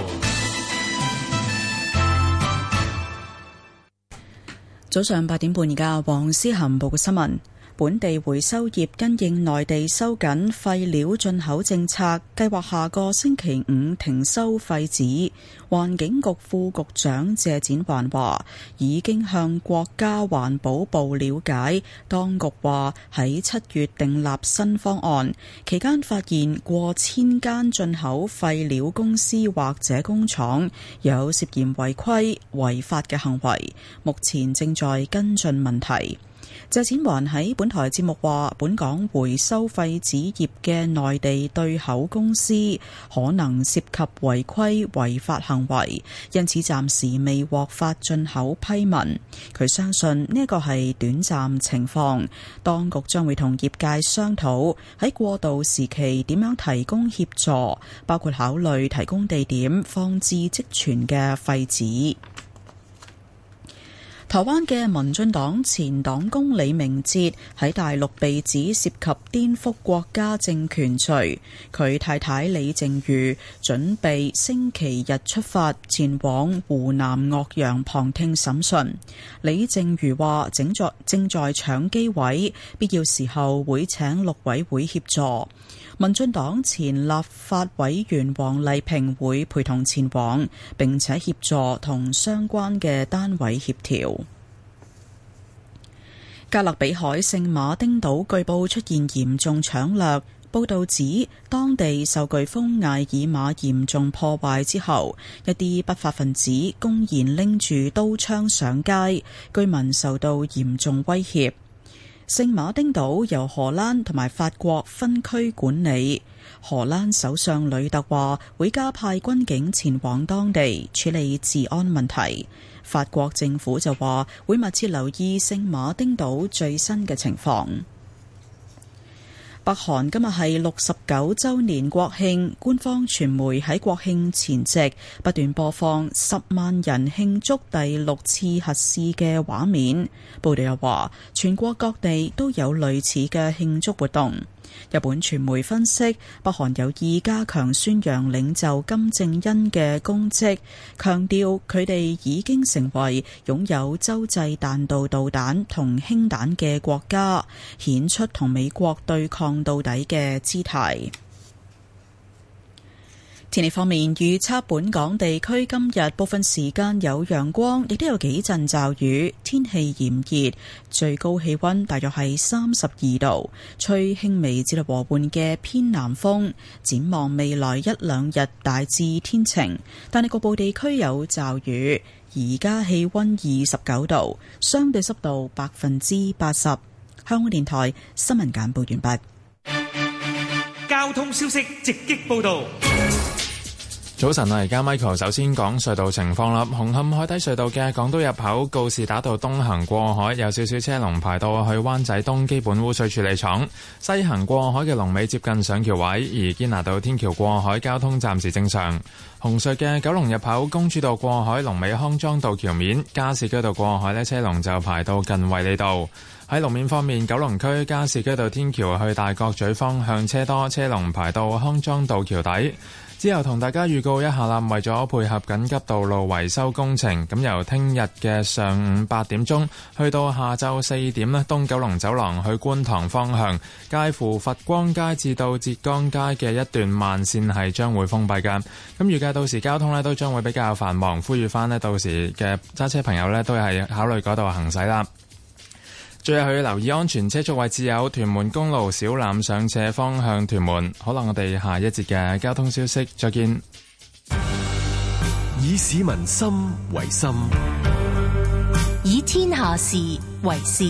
早上8點半，而家黃思涵報嘅新聞。本地回收業因應內地收緊廢料進口政策，計劃下個星期5停收廢紙。環境局副局長謝展寰話，已經向國家環保部了解，當局話喺7月訂立新方案，期間發現過千間進口廢料公司或者工廠有涉嫌違規違法嘅行為，目前正在跟進問題。謝展寰喺本台節目話，本港回收廢紙業嘅內地對口公司可能涉及違規違法行為，因此暫時未獲發進口批文。佢相信呢個係短暫情況，當局將會同業界商討喺過渡時期點樣提供協助，包括考慮提供地點放置積存嘅廢紙。台灣嘅民進黨前黨工李明哲喺大陸被指涉及顛覆國家政權罪，佢太太李淨瑜準備星期日出發前往湖南岳陽旁聽審訊。李淨瑜話正在搶機位，必要時候會請陸委會協助。民進黨前立法委員王麗萍會陪同前往，並且協助同相關嘅單位協調。加勒比海聖馬丁島據報出現嚴重搶掠，報道指當地受颶風艾爾瑪嚴重破壞之後，一啲不法分子公然拎住刀槍上街，居民受到嚴重威脅。聖馬丁島由荷蘭同埋法國分區管理，荷蘭首相呂特話會加派軍警前往當地處理治安問題。法國政府就話會密切留意聖馬丁島最新嘅情況。 北韓今日係69週年國慶，官方傳媒喺國慶前夕不斷播放10萬人慶祝第6次核試嘅畫面。報道又話，全國各地都有類似嘅慶祝活動。日本傳媒分析，北韓有意加強宣揚領袖金正恩嘅功績，強調佢哋已經成為擁有洲際彈道導彈同氫彈嘅國家，顯出同美國對抗到底嘅姿態。天氣方面，預測本港地區今日部分時間有陽光，亦都有幾陣驟雨，天氣炎熱，最高氣溫大約係32度，吹輕微至到和緩嘅偏南風。展望未來一兩日大致天晴，但係局部地區有驟雨。而家氣溫29度，相對濕度80%。香港電台新聞簡報完畢。 交通消息直擊報道。 早晨啊，而家 Michael 首先講隧道情況啦。紅磡海底隧道嘅港島入口告士打道東行過海有少少車龍排到去灣仔東基本污水處理廠，西行過海嘅龍尾接近上橋位，而堅拿道天橋過海交通暫時正常。紅隧嘅九龍入口公主道過海龍尾康莊道橋面，加士居道過海呢車龍就排到近衛理道。喺路面方面，九龍區加士居道天橋去大角咀方向車多，車龍排到康莊道橋底。之後同大家預告一下啦，為咗配合緊急道路維修工程，咁由聽日嘅上午8點鐘去到下晝4點呢，東九龍走廊去觀塘方向，介乎佛光街至到浙江街嘅一段慢線係將會封閉㗎。咁預計到時交通呢都將會比較繁忙，呼籲翻呢到時嘅揸車朋友呢都係考慮嗰度行駛啦。最後要留意安全車速位置有屯門公路小欖上斜方向屯門。好啦，我哋下一節嘅交通消息再見。 以市民心為心， 以天下事為事。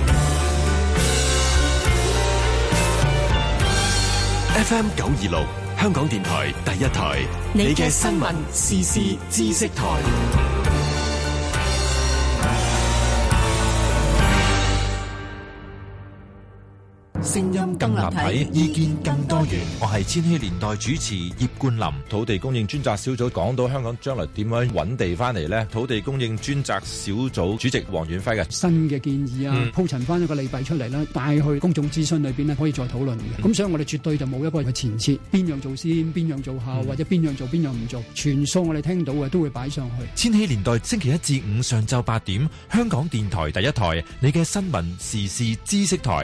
FM 926香港電台第一台，你嘅新聞時事知識台。聲音更立體，意見更多元。 我係千禧年代主持葉冠霖。土地供應專責小組講到香港將來點樣揾地翻嚟呢？土地供應專責小組主席黃遠輝嘅新嘅建議啊，鋪陳翻一個利弊出嚟啦，帶去公眾諮詢裏邊呢可以再討論嘅。咁所以我哋絕對就冇一個嘅前設，邊樣做先，邊樣做後，或者邊樣做邊樣唔做，全數我哋聽到嘅都會擺上去。 千禧年代星期一至五上晝8點，香港電台第一台，你嘅新聞時事知識台。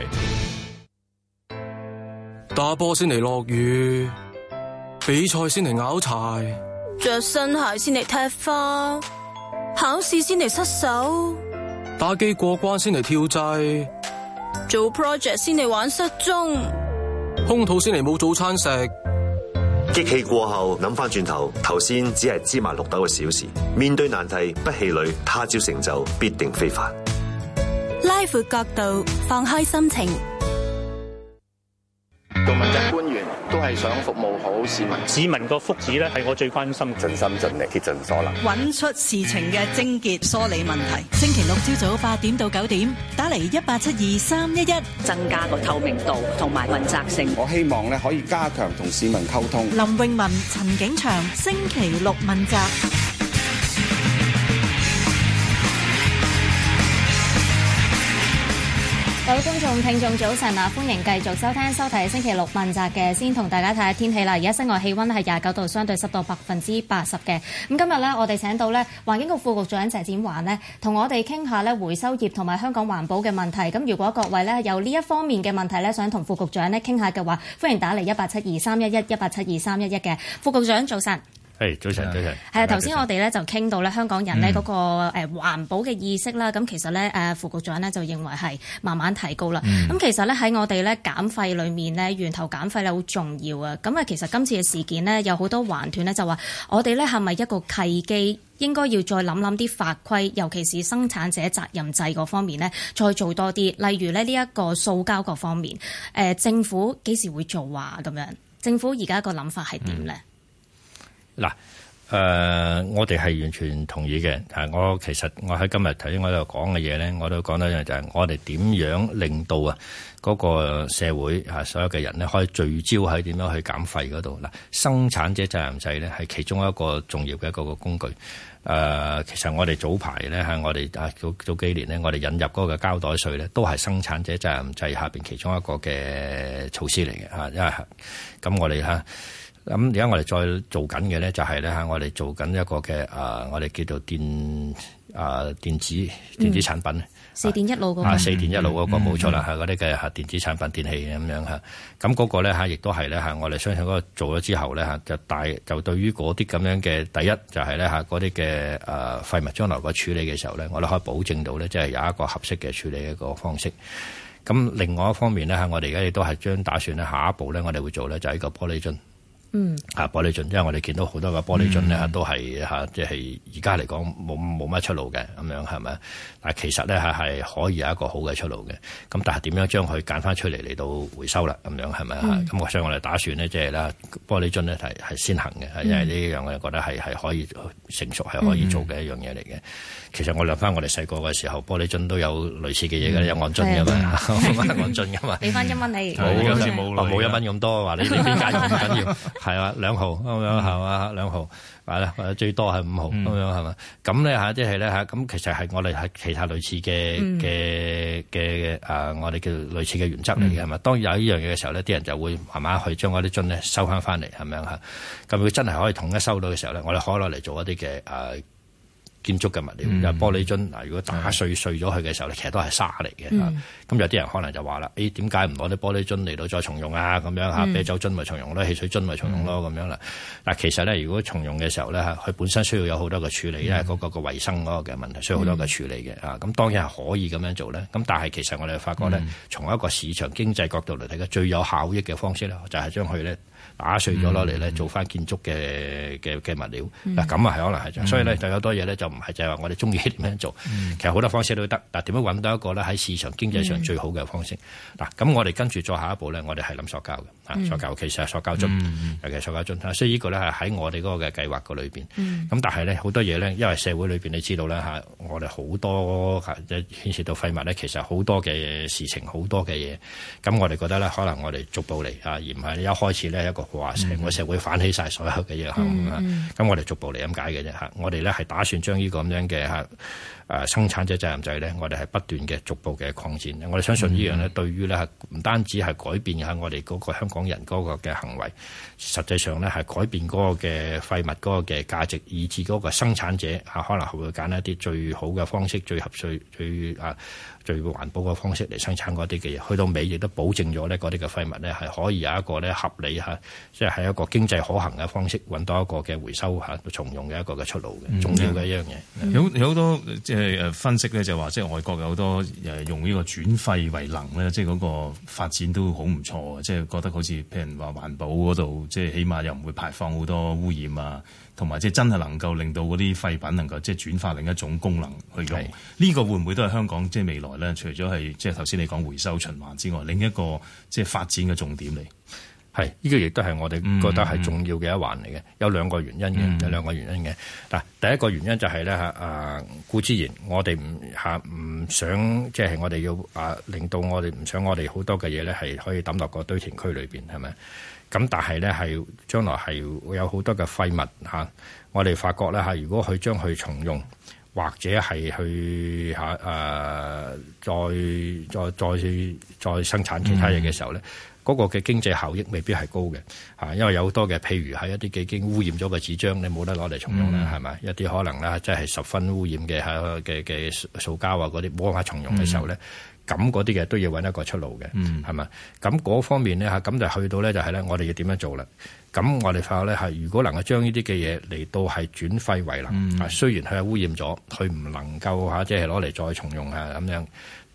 打波先嚟落雨，比賽先嚟拗柴， 着新鞋先嚟踢花，考試先嚟失手， 打機過關先嚟跳掣， 做 project 先嚟玩失蹤， 空肚先嚟冇早餐食。 激氣過後諗翻轉頭，頭先只係芝麻綠豆嘅小事。面對難題不氣餒，他朝成就必定非凡。 拉闊角度，放開心情。 做問責官員都係想服務好市民， 市民個福祉咧係我最關心， 盡心盡力，竭盡所能， 揾出事情嘅症結，梳理問題。星期六朝早8點到9點，打嚟1872-311， 增加個透明度同埋問責性。 我希望咧可以加強同市民溝通。 林詠雯、陳景祥，星期六問責。 各位觀眾、聽眾早晨啊！歡迎繼續收聽、收睇星期六問責嘅。先同大家睇下天氣啦。而家室外氣溫係29度，相對濕度80%嘅。咁今日呢，我哋請到呢環境局副局長謝展寰呢，同我哋傾下呢回收業同埋香港環保嘅問題。咁如果各位呢有呢一方面嘅問題呢，想同副局長呢傾下嘅話，歡迎打嚟1872-311嘅。副局長早晨。 早晨，早晨。 係啊，頭先我哋咧就傾到咧香港人咧嗰個環保嘅意識啦。咁其實咧副局長咧就認為係慢慢提高啦。咁其實咧喺我哋咧減廢裏面咧，源頭減廢咧好重要啊。咁啊，其實今次嘅事件呢，有好多環團咧就話，我哋咧係咪一個契機，應該要再諗啲法規，尤其是生產者責任制嗰方面咧，再做多啲。例如咧呢一個塑膠嗰方面，政府幾時會做啊？咁樣，政府而家個諗法係點咧？ 嗱， 我哋係完全同意嘅。其實我喺今日頭先我喺度講嘅嘢咧，我都講到一樣就係我哋點樣令到嗰個社會所有嘅人咧可以聚焦喺點樣去減廢嗰度。嗱，生產者責任制咧係其中一個重要嘅一個工具。其實我哋早排咧我哋早幾年咧，我哋引入嗰個膠袋稅咧，都係生產者責任制下邊其中一個嘅措施嚟嘅。因為咁我哋咁而家我哋再做緊嘅咧，就係咧我哋做緊一個嘅我哋叫做電子產品。 4電1腦嗰個。 4電1腦嗰個冇錯啦，嗰啲嘅電子產品、電器咁樣嚇。咁嗰個咧亦都係咧我哋相信嗰個做咗之後咧就對於嗰啲咁樣嘅第一就係咧嗰啲嘅廢物將來個處理嘅時候咧，我哋可以保證到咧，即係有一個合適嘅處理嘅一個方式。咁另外一方面咧我哋而家亦都係打算咧下一步咧，我哋會做咧就係呢個玻璃樽。玻璃樽，因為我哋見到好多個玻璃樽咧都係即係而家嚟講冇乜出路嘅咁樣係咪？但係其實咧係可以有一個好嘅出路嘅。咁但係點樣將佢揀翻出嚟到回收啦？咁樣係咪？咁所以我哋打算咧即係啦，玻璃樽咧係先行嘅，因為呢樣我哋覺得係可以成熟係可以做嘅一樣嘢嚟嘅。其實我諗翻我哋細個嘅時候，玻璃樽都有類似嘅嘢嘅，有按樽㗎嘛，按樽㗎嘛。 俾翻1蚊你， 冇1蚊咁多，話你邊間唔緊要。係啊，2毫咁樣係嘛，2毫係啦，或者最多係5毫咁樣係嘛。咁咧即係咧咁其實係我哋係其他類似嘅我哋叫類似嘅原則嚟嘅係嘛。當有呢樣嘢嘅時候咧，啲人就會慢慢去將嗰啲樽咧收翻嚟係咪啊？咁佢真係可以統一收到嘅時候咧，我哋可以攞嚟做一啲嘅建築嘅物料，玻璃樽如果打碎咗佢嘅時候咧，其實都係沙嚟嘅。咁有啲人可能就話啦，點解唔攞啲玻璃樽嚟到再重用啊？咁樣啤酒樽咪重用咯，汽水樽咪重用咯，咁樣啦。嗱，其實咧，如果重用嘅時候咧，佢本身需要有好多嘅處理，因為嗰個衞生嗰個嘅問題需要好多嘅處理嘅。咁當然係可以咁樣做咧。咁但係其實我哋發覺咧，從一個市場經濟角度嚟睇嘅最有效益嘅方式咧，就係將佢咧打碎咗攞嚟咧做翻建築嘅物料。嗱，咁係可能係，所以咧就有好多嘢咧就唔係就係話我哋中意點樣做，其實好多方式都得。但點樣揾到一個咧喺市場經濟上最好嘅方式？嗱，咁我哋跟住再下一步咧，我哋係諗塑膠嘅，塑膠其實係塑膠樽，尤其係塑膠樽。所以呢個咧係喺我哋嗰個嘅計劃個裏邊。咁但係咧好多嘢咧，因為社會裏邊你知道啦我哋好多牽涉到廢物咧，其實好多嘅事情，好多嘅嘢。咁我哋覺得咧，可能我哋逐步嚟而唔係一開始咧一個話成個社會反起晒所有嘅嘢。咁我哋逐步嚟咁解嘅啫。我哋咧係打算將呢個咁樣嘅生產者責任制咧，我哋係不斷嘅逐步嘅擴展。我哋相信呢樣咧，對於咧唔單止係改變下我哋嗰個香港人嗰個嘅行為，實際上咧係改變嗰個嘅廢物嗰個嘅價值，以至嗰個生產者可能係會揀一啲最好嘅方式、最合最環保嘅方式嚟生產嗰啲嘅嘢。去到尾亦都保證咗咧嗰啲嘅廢物咧係可以有一個咧合理即係喺一個經濟可行嘅方式揾到一個嘅回收重用嘅一個嘅出路嘅，重要嘅一樣嘢。 有好多即係分析咧，就話即係外國有好多用呢個轉廢為能咧，即係嗰個發展都好唔錯，即係覺得好似譬如話環保嗰度，即係起碼又唔會排放好多污染啊，同埋即係真係能夠令到嗰啲廢品能夠即係轉化另一種功能去用。呢個會唔會都係香港即係未來咧？除咗係即係頭先你講回收循環之外，另一個即係發展嘅重點嚟。 係，呢個亦都係我哋覺得係重要嘅一環嚟嘅。有兩個原因嘅，有兩個原因嘅。嗱，第一個原因就係咧固之然，我哋唔想即係我哋要令到我哋唔想我哋好多嘅嘢咧係可以抌落個堆填區裏邊，係咪？咁但係咧係將來係會有好多嘅廢物我哋發覺咧如果佢將佢重用，或者係去再生產其他嘢嘅時候咧。嗰個嘅經濟效益未必係高嘅，因為有好多嘅，譬如係一啲已經污染咗嘅紙張，你冇得攞嚟重用啦，係咪？一啲可能咧，即係十分污染嘅塑膠嗰啲冇法重用嘅時候咧，咁嗰啲嘅都要揾一個出路嘅，係咪？咁嗰方面咧咁就去到咧就係咧，我哋要點樣做啦？咁我哋發覺咧如果能夠將呢啲嘅嘢嚟到係轉廢為能，雖然佢係污染咗，佢唔能夠即係攞嚟再重用咁樣。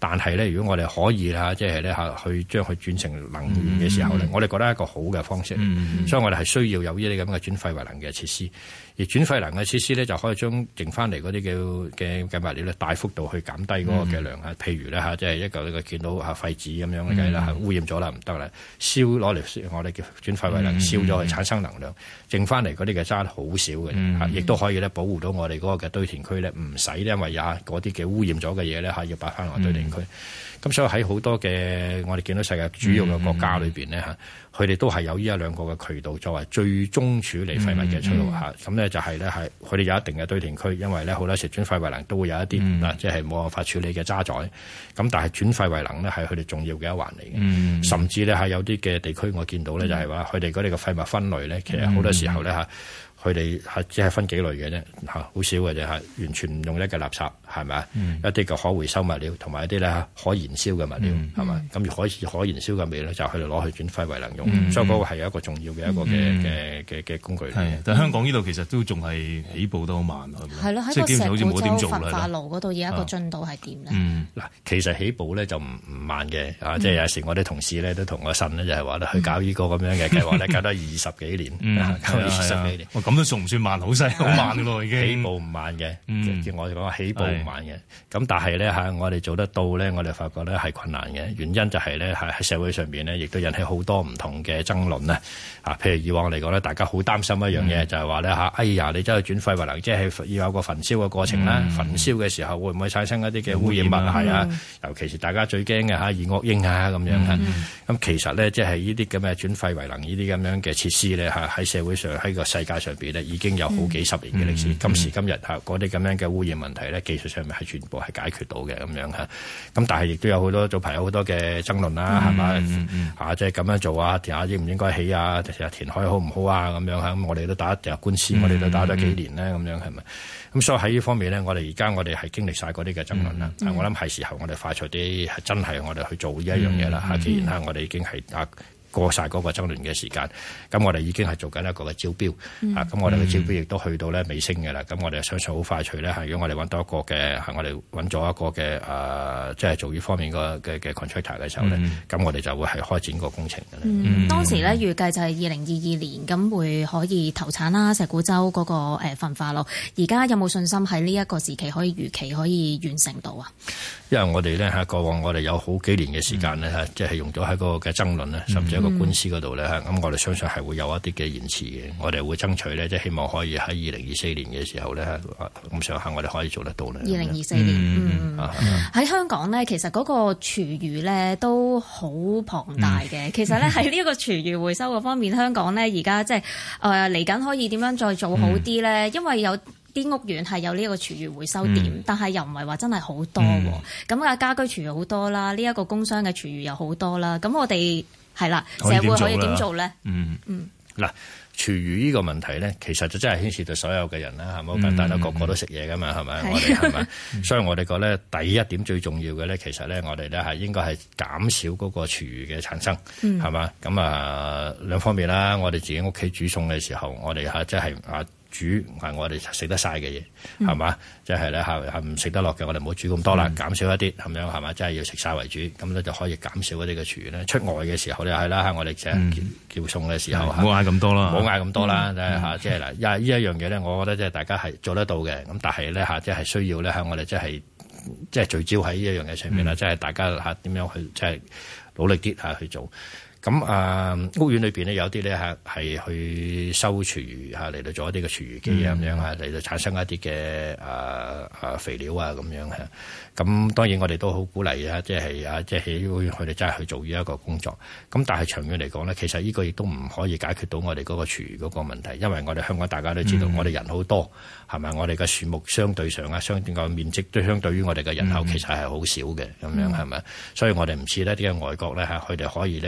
但係咧，如果我哋可以即係咧去將佢轉成能源嘅時候咧，我哋覺得係一個好嘅方式。所以我哋係需要有呢啲咁嘅轉廢為能嘅設施。而轉廢能嘅設施咧，就可以將剩翻嚟嗰啲嘅物料咧，大幅度去減低嗰個嘅量啊。譬如咧即係一嚿呢個見到廢紙咁樣嘅計啦，污染咗啦，唔得啦，攞嚟我哋叫轉廢為能，燒咗去產生能量，剩翻嚟嗰啲嘅渣好少嘅，亦都可以咧保護到我哋嗰個嘅堆填區咧，唔使因為嗰啲嘅污染咗嘅嘢咧要擺翻落堆填區。咁所以喺好多嘅我哋見到世界主要嘅國家裏邊咧佢哋都係有呢一兩個嘅渠道作為最終處理廢物嘅出路咁咧就係咧佢哋有一定嘅堆填區，因為咧好多時轉廢為能都會有一啲即係冇辦法處理嘅渣滓。咁但係轉廢為能咧係佢哋重要嘅一環嚟嘅。甚至咧有啲嘅地區我見到咧就係話佢哋嗰啲嘅廢物分類咧，其實好多時候咧佢哋只係分幾類嘅啫，好少嘅啫，完全唔用一嘅垃圾，係咪啊？一啲嘅可回收物料，同埋一啲咧可燃燒嘅物料，係咪？咁可燃燒嘅物料咧，就佢哋攞去轉廢為能用，所以嗰個係一個重要嘅一個嘅工具。 係，但係香港呢度其實都仲係起步得好慢， 係咯，喺個石鼓洲焚化爐嗰度而家個進度係點咧？ 嗱，其實起步咧就唔慢嘅，即係有時我啲同事咧都同我呻咧，就係話咧去搞呢個咁樣嘅計劃咧，搞得20幾年，搞20幾年。 咁都算唔算慢？好細好慢嘅咯，已經起步唔慢嘅。叫我哋講起步唔慢嘅。咁但係咧我哋做得到咧，我哋發覺咧係困難嘅。原因就係咧喺社會上邊咧，亦都引起好多唔同嘅爭論啦。譬如以往嚟講咧，大家好擔心一樣嘢，就係話咧哎呀，你走去轉廢為能，即係要有個焚燒嘅過程啦。焚燒嘅時候會唔會產生一啲嘅污染物係啊？尤其是大家最驚嘅二惡英咁樣。咁其實咧，即係呢啲咁嘅轉廢為能呢啲咁樣嘅設施咧喺社會上喺個世界上邊咧已經有好幾十年嘅歷史。今時今日嗰啲咁樣嘅污染問題咧，技術上面係全部係解決到嘅咁樣。咁但係亦都有好多早排有好多嘅爭論啦，係咪？即係咁樣做啊，填下應唔應該起啊？填海好唔好啊？咁樣咁我哋都打官司，我哋都打咗幾年咧，咁樣係咪？咁所以喺呢方面咧，我哋係經歷晒嗰啲嘅爭論啦。我諗係時候我哋快脆啲，係真係我哋去做呢一樣嘢啦。既然我哋已經係過晒嗰個爭論嘅時間，咁我哋已經係做緊一個嘅招標，咁我哋嘅招標亦都去到咧尾聲嘅啦。咁我哋相信好快脆咧，如果我哋揾到一個嘅，我哋揾咗一個嘅即係做呢方面嘅 contractor 嘅時候咧，咁我哋就會係開展個工程嘅啦。 當時咧預計就係2022年咁會可以投產啦，石鼓洲嗰個焚化爐。而家有冇信心喺呢一個時期可以如期可以完成到啊？ 因為我哋咧過往我哋有好幾年嘅時間咧即係用咗喺個嘅爭論咧，甚至一個官司嗰度咧咁我哋相信係會有一啲嘅延遲嘅。我哋會爭取咧，即係希望可以喺2024年嘅時候咧咁上下我哋可以做得到咧。 2024年，喺香港咧，其實嗰個廚餘咧都好龐大嘅。其實咧喺呢一個廚餘回收嘅方面，香港咧而家即係嚟緊可以點樣再做好啲咧？因為有啲屋苑係有呢一個廚餘回收點，但係又唔係話真係好多。咁家居廚餘好多啦，呢一個工商嘅廚餘又好多啦。咁我哋係啦，社會可以點做咧？ 嗱，廚餘呢個問題咧，其實就真係牽涉到所有嘅人啦，係咪好簡單啦？個個都食嘢噶嘛，係咪？我哋係咪？所以我哋覺得第一點最重要嘅咧，其實咧，我哋咧係應該係減少嗰個廚餘嘅產生，係嘛？咁兩方面啦，我哋自己屋企煮餸嘅時候，我哋即係煮係我哋食得晒嘅嘢，係嘛？即係咧係唔食得落嘅，我哋唔好煮咁多啦，減少一啲咁樣係嘛？即係要食晒為主，咁咧就可以減少一啲嘅廚餘咧。出外嘅時候咧係啦，我哋即係叫餸嘅時候， 唔好嗌咁多啦， 唔好嗌咁多啦，即係嗱，呢一樣嘢咧，我覺得即係大家係做得到嘅，咁但係咧即係需要咧我哋即係聚焦喺呢一樣嘢上面啦，即係大家點樣去即係努力啲去做。咁屋苑裏邊咧有啲咧係去收廚餘嚟到做一啲嘅廚餘機咁樣嚟到產生一啲嘅肥料咁樣咁當然我哋都好鼓勵即係佢哋真係去做呢一個工作。咁但係長遠嚟講咧，其實呢個亦都唔可以解決到我哋嗰個廚餘嗰個問題，因為我哋香港大家都知道，我哋人好多係咪？我哋嘅樹木相對上相對個面積都相對於我哋嘅人口其實係好少嘅咁樣係咪？所以我哋唔似呢啲嘅外國咧佢哋可以咧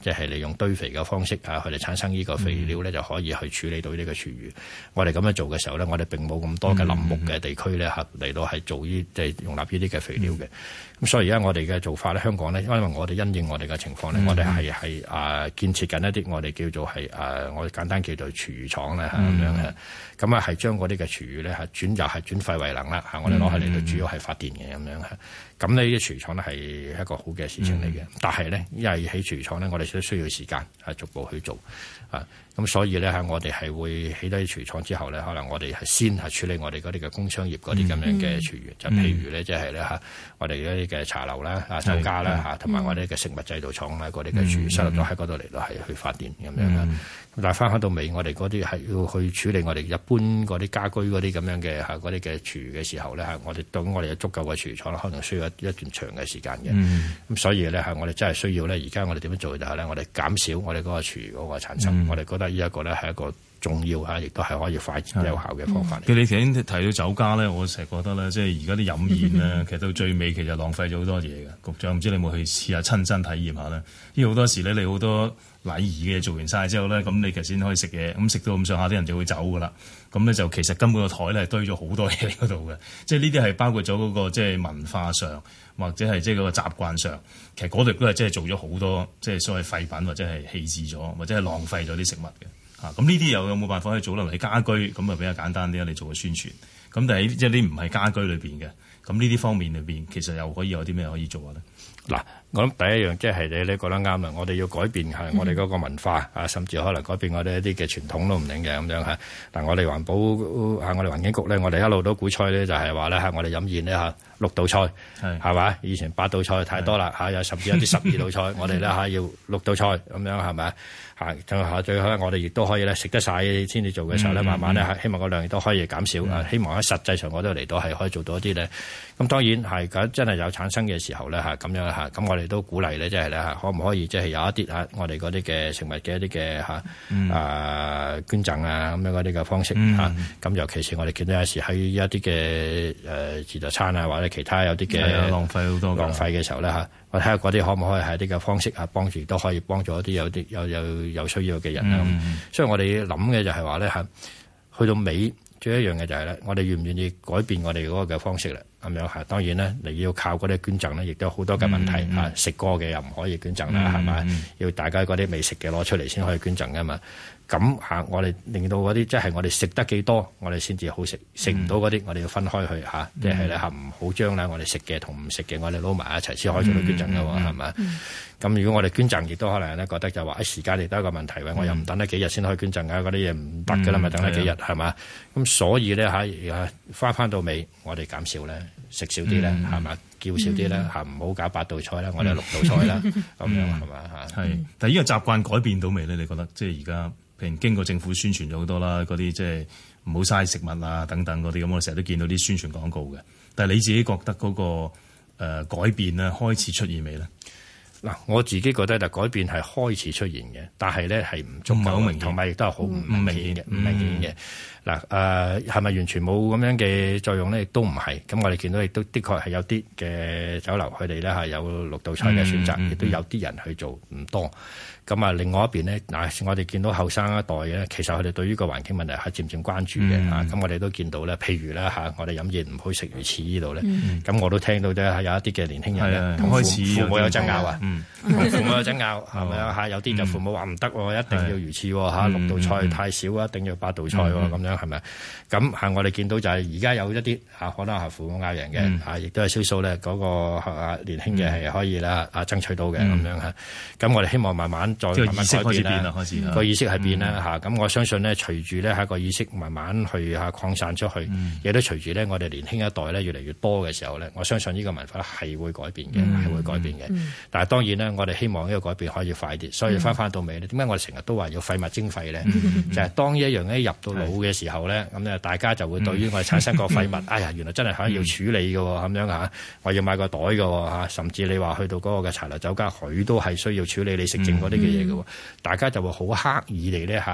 即係利用堆肥嘅方式佢哋產生呢個肥料咧就可以去處理到呢個廚餘。我哋咁樣做嘅時候咧，我哋並冇咁多嘅林木嘅地區咧嚟到係做即係容納呢啲嘅肥料嘅。咁所以而家我哋嘅做法咧，香港咧，因為我哋因應我哋嘅情況咧，我哋係建設緊一啲我哋叫做係我哋簡單叫做廚餘廠咧咁樣嘅。咁係將嗰啲嘅廚餘咧轉廢為能啦我哋攞去嚟到主要係發電嘅咁樣。咁呢啲廚餘廠咧係一個好嘅事情嚟嘅。但係咧，因為起廚餘廠咧，我哋都需要時間逐步去做咁所以咧我哋係會起低廚餘廠之後咧，可能我哋係先處理我哋嗰啲嘅工商業嗰啲咁樣嘅廚餘，就譬如咧即係咧我哋嗰啲嘅茶樓啦、酒家啦同埋我哋嘅食物製造廠啦嗰啲嘅廚餘收入咗喺嗰度嚟到係去發電咁樣啦。但係翻到尾，我哋嗰啲係要去處理我哋一般嗰啲家居嗰啲咁樣嘅嗰啲嘅廚餘嘅時候咧我哋對我哋有足夠嘅廚餘廠可能需要一段長嘅時間嘅。咁所以咧我哋真係需要咧，而家我哋點樣做就係咧，我哋減少我哋嗰個廚餘嗰個產生。我哋覺得呢一個咧係一個重要亦都係可以快有效嘅方法嚟。 你頭先提到酒家咧，我成日覺得咧，即係而家啲飲宴咧，其實到最尾其實浪費咗好多嘢嘅。局長唔知你有冇去試下親身體驗下咧？因為好多時咧，你好多禮儀嘅做完晒之後咧，咁你其實先可以食嘢，咁食到咁上下啲人就會走噶啦。咁咧就其實根本個台咧係堆咗好多嘢喺嗰度嘅。即係呢啲係包括咗嗰個即係文化上，或者係即係嗰個習慣上，其實嗰度都係即係做咗好多即係所謂廢品或者係棄置咗，或者係浪費咗啲食物嘅。咁呢啲有冇辦法可以做落嚟家居？咁啊比較簡單啲，你做個宣傳。咁但係即係啲唔係家居裏邊嘅，咁呢啲方面裏邊其實又可以有啲咩可以做下咧？ 嗱，我諗第一樣即係你講得啱啦，我哋要改變我哋嗰個文化甚至可能改變我哋一啲嘅傳統都唔定嘅咁樣嚇。但我哋環保我哋環境局咧，我哋一路都鼓吹咧，就係話咧我哋飲宴咧6道菜係嘛？以前8道菜太多啦有甚至有啲12道菜，我哋咧要6道菜咁樣係咪？最後我哋亦都可以咧食得晒先至做嘅時候咧，慢慢咧希望個量亦都可以減少。希望喺實際上我都嚟到係可以做到一啲咧。咁當然係真係有產生嘅時候咧咁樣咁我哋都鼓勵咧，即係咧可唔可以即係有一啲我哋嗰啲嘅食物嘅一啲嘅捐贈咁樣嗰啲嘅方式咁尤其是我哋見到有時喺一啲嘅自助餐或者其他有啲嘅浪費好多浪費嘅時候咧我睇下嗰啲可唔可以係一啲嘅方式幫住都可以幫助一啲有需要嘅人啦。所以我哋諗嘅就係話咧去到尾最一樣嘅就係咧，我哋願唔願意改變我哋嗰個嘅方式啦？咁樣當然咧，你要靠嗰啲捐贈咧，亦都有好多嘅問題食過嘅又唔可以捐贈啦，係咪？要大家嗰啲未食嘅攞出嚟先可以捐贈噶嘛。咁我哋令到嗰啲即係我哋食得幾多，我哋先至好食。食唔到嗰啲，我哋要分開去即係咧唔好將我哋食嘅同唔食嘅，我哋撈埋一齊先可以做到捐贈噶喎，係咪？咁如果我哋捐贈，亦都可能咧覺得就話時間亦都係一個問題，我又唔等得幾日先可以捐贈啊！嗰啲嘢唔得噶啦，咪等得幾日係嘛？咁所以咧翻到尾，我哋減少咧食少啲咧係嘛？叫少啲咧唔好搞8道菜啦，我哋6道菜啦咁樣係嘛？ 係，但係呢個習慣改變到未咧？你覺得即係而家譬如經過政府宣傳咗好多啦，嗰啲即係唔好嘥食物啊等等嗰啲咁，我成日都見到啲宣傳廣告嘅。但係你自己覺得嗰個改變咧開始出現未咧？ 嗱，我自己覺得就改變係開始出現嘅，但係咧係唔足夠，同埋亦都係好唔明顯嘅，唔明顯嘅。嗱，係咪完全冇咁樣嘅作用咧？亦都唔係。咁我哋見到亦都的確係有啲嘅酒樓，佢哋咧係有6道菜嘅選擇，亦都有啲人去做唔多。咁啊，另外一邊咧，我哋見到後生一代咧，其實佢哋對於個環境問題係漸漸關注嘅嚇。咁我哋都見到咧，譬如咧我哋飲嘢唔好食魚翅呢度咧，咁我都聽到啫，有一啲嘅年輕人咧，同父母有爭拗啊，同父母有爭拗係咪啊？有啲就父母話唔得喎，一定要魚翅喎，6道菜太少啊，一定要8道菜喎，咁樣係咪？咁我哋見到就係而家有一啲可能係父母拗人嘅亦都係少數咧嗰個年輕嘅係可以啦爭取到嘅咁樣嚇。咁我哋希望慢慢再慢慢改變啦，個意識係變啦。咁我相信咧，隨住咧個意識慢慢去擴散出去，亦都隨住咧我哋年輕一代咧越嚟越多嘅時候咧，我相信呢個文化係會改變嘅，係會改變嘅。但係當然咧，我哋希望呢個改變可以快啲。所以翻到尾咧，點解我哋成日都話要廢物徵費咧？就係當一樣咧入到腦嘅時候咧，咁咧大家就會對於我哋產生個廢物，哎呀，原來真係可以要處理嘅喎，咁樣嚇，我要買個袋嘅喎嚇，甚至你話去到嗰個嘅茶樓酒家，佢都係需要處理你食剩嗰啲嘅嘢嘅喎，大家就會好刻意地咧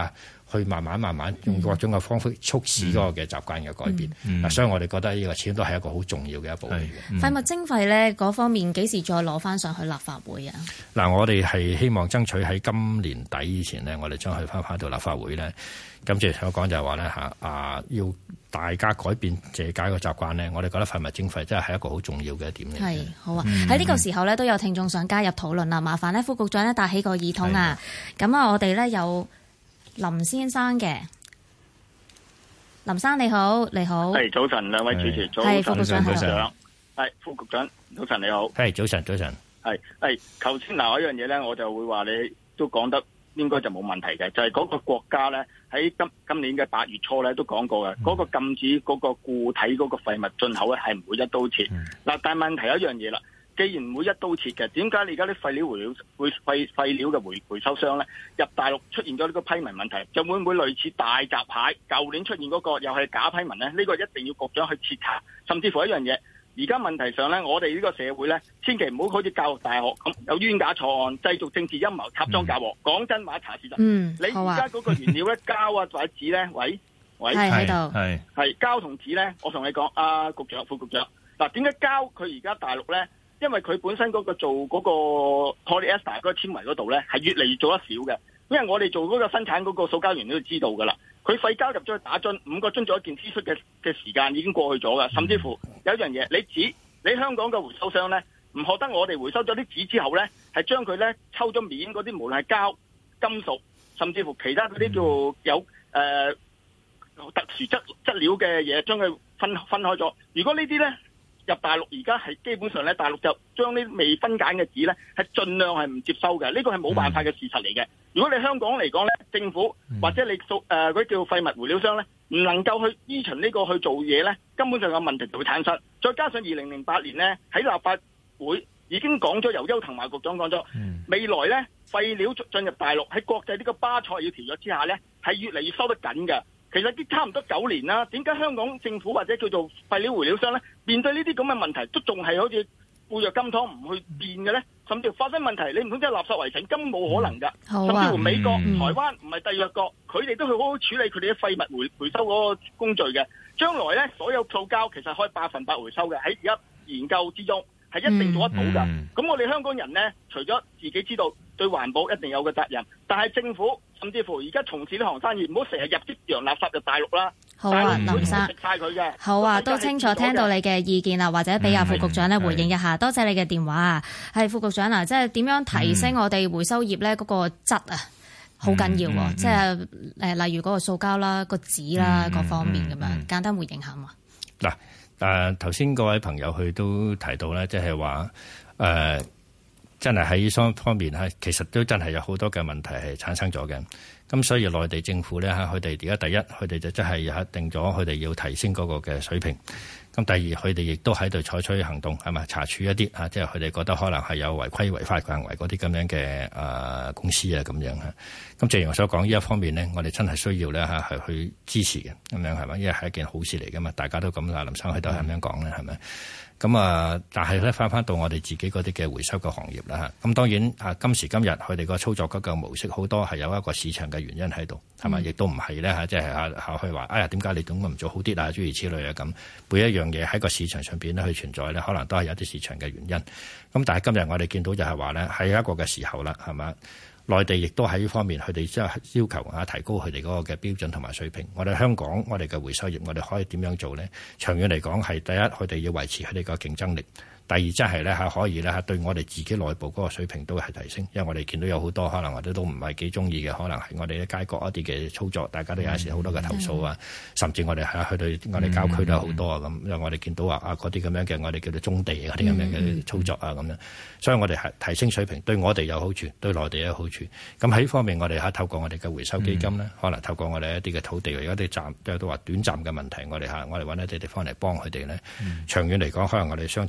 去慢慢用各種嘅方式促使嗰個嘅習慣嘅改變。所以我哋覺得呢個始終都係一個好重要嘅一步嚟嘅。 廢物徵費咧嗰方面幾時再攞翻上去立法會啊？ 嗱，我哋係希望爭取喺今年底以前呢，我哋將佢翻到立法會咧。咁即係所講就係話咧要大家改變借解個習慣咧，我哋覺得廢物徵費真係一個好重要嘅一點嚟。 係好啊！喺呢個時候咧都有聽眾想加入討論啦，麻煩咧副局長咧帶起個耳筒啊。咁啊，我哋咧有林先生嘅。林生你好，你好。 係早晨，兩位主持早晨， 副局長， 係副局長早晨你好。 係早晨。 係頭先嗱，嗰樣嘢咧，我就會話你都講得應該就冇問題嘅，就係嗰個國家咧喺今年嘅8月初咧都講過嘅，嗰個禁止嗰個固體嗰個廢物進口咧係唔會一刀切。嗱，但係問題有一樣嘢啦，既然唔會一刀切嘅，點解你而家啲廢料嘅回收商咧入大陸出現咗呢個批文問題，就會唔會類似大閘蟹舊年出現嗰個又係假批文咧？呢個一定要局長去徹查，甚至乎一樣嘢。而家問題上咧，我哋呢個社會咧，千祈唔好好似教育大學咁有冤假錯案、製造政治陰謀、插贓嫁禍。講真話，查事實。你而家嗰個原料咧，膠啊或者紙咧，喂， 係喺度， 係膠同紙咧。我同你講，局長、副局長，嗱，點解膠佢而家大陸咧？因為佢本身嗰個做嗰個 polyester 嗰個纖維嗰度咧，係越嚟越做得少嘅。因為我哋做嗰個生產嗰個塑膠原料都知道㗎啦。佢廢膠入咗去打樽，5個樽做一件 T 恤嘅時間已經過去咗噶，甚至乎有一樣嘢，你香港嘅回收商咧，唔學得我哋回收咗啲紙之後咧，係將佢咧抽咗面嗰啲，無論係膠、金屬，甚至乎其他嗰啲叫有特殊質料嘅嘢，將佢分開咗。如果呢啲咧入大陸，而家係基本上咧，大陸就將呢未分解嘅紙咧，係盡量係唔接收嘅。呢個係冇辦法嘅事實嚟嘅。如果你香港嚟講咧，政府或者你嗰啲叫廢物回收商咧，唔能夠去依循呢個去做嘢咧，根本上有問題就會產生。再加上2008年咧喺立法會已經講咗，由邱騰華局長講咗，未來咧廢料進入大陸喺國際呢個巴塞爾條約之下咧，係越嚟越收得緊嘅。其實啲差唔多9年啦，點解香港政府或者叫做廢料回收商咧，面對呢啲咁嘅問題都仲係好似固若金湯唔去變嘅咧？甚至發生問題，你唔通真係垃圾圍城，根本冇可能㗎。甚至乎美國、台灣唔係締約國，佢哋都去好好處理佢哋嘅廢物回收嗰個工序嘅。將來咧，所有塑膠其實可以100%回收嘅，喺而家研究之中係一定做得到㗎。咁我哋香港人咧，除咗自己知道對環保一定有個責任，但係政府甚至乎而家從事呢行生意，唔好成日入啲洋垃圾入大陸啦。 好啊，林生， 食晒佢嘅。 好啊，都清楚聽到你嘅意見啦，或者俾阿副局長咧回應一下。多謝你嘅電話啊，係副局長啊，即係點樣提升我哋回收業咧嗰個質啊，好緊要喎。即係例如嗰個塑膠啦、個紙啦各方面咁樣，簡單回應下嘛。 嗱，頭先各位朋友佢都提到咧，即係話真係喺雙方面其實都真係有好多嘅問題係產生咗嘅。咁所以內地政府咧佢哋而家第一，佢哋就真係定咗佢哋要提升嗰個嘅水平。咁第二，佢哋亦都喺度採取行動，係咪查處一啲即係佢哋覺得可能係有違規違法行為嗰啲咁樣嘅公司啊咁樣嚇。咁正如我所講，呢一方面呢，我哋真係需要咧係去支持嘅咁樣係咪？因為係一件好事嚟噶嘛，大家都咁林生喺度係咁樣講咧係咪？咁但係咧翻到我哋自己嗰啲嘅回收嘅行業啦嚇。咁當然今時今日佢哋個操作嗰個模式好多係有一個市場嘅原因喺度係咪？亦都唔係咧即係去話哎呀點解你點解唔做好啲啊諸如此類啊咁。每一樣嘢喺個市場上邊咧去存在咧，可能都係有啲市場嘅原因。咁但係今日我哋見到就係話咧，喺一個嘅時候啦，係嘛？內地亦都喺呢方面，佢哋即係要求提高佢哋嗰個嘅標準同埋水平。我哋香港，我哋嘅回收業，我哋可以點樣做咧？長遠嚟講，係第一，佢哋要維持佢哋個競爭力。第二，即係咧可以咧對我哋自己內部嗰個水平都係提升，因為我哋見到有好多可能我哋都唔係幾中意嘅，可能係我哋啲街角一啲嘅操作，大家都有時好多嘅投訴啊，甚至我哋去到我哋郊區都有好多啊咁，因為我哋見到話嗰啲咁樣嘅我哋叫做棕地嗰啲咁樣嘅操作啊咁樣，所以我哋係提升水平，對我哋有好處，對內地有好處。咁喺呢方面，我哋透過我哋嘅回收基金咧，可能透過我哋一啲嘅土地，有啲站都話短暫嘅問題，我哋揾一啲地方嚟幫佢哋咧。長遠嚟講，可能我哋商討就係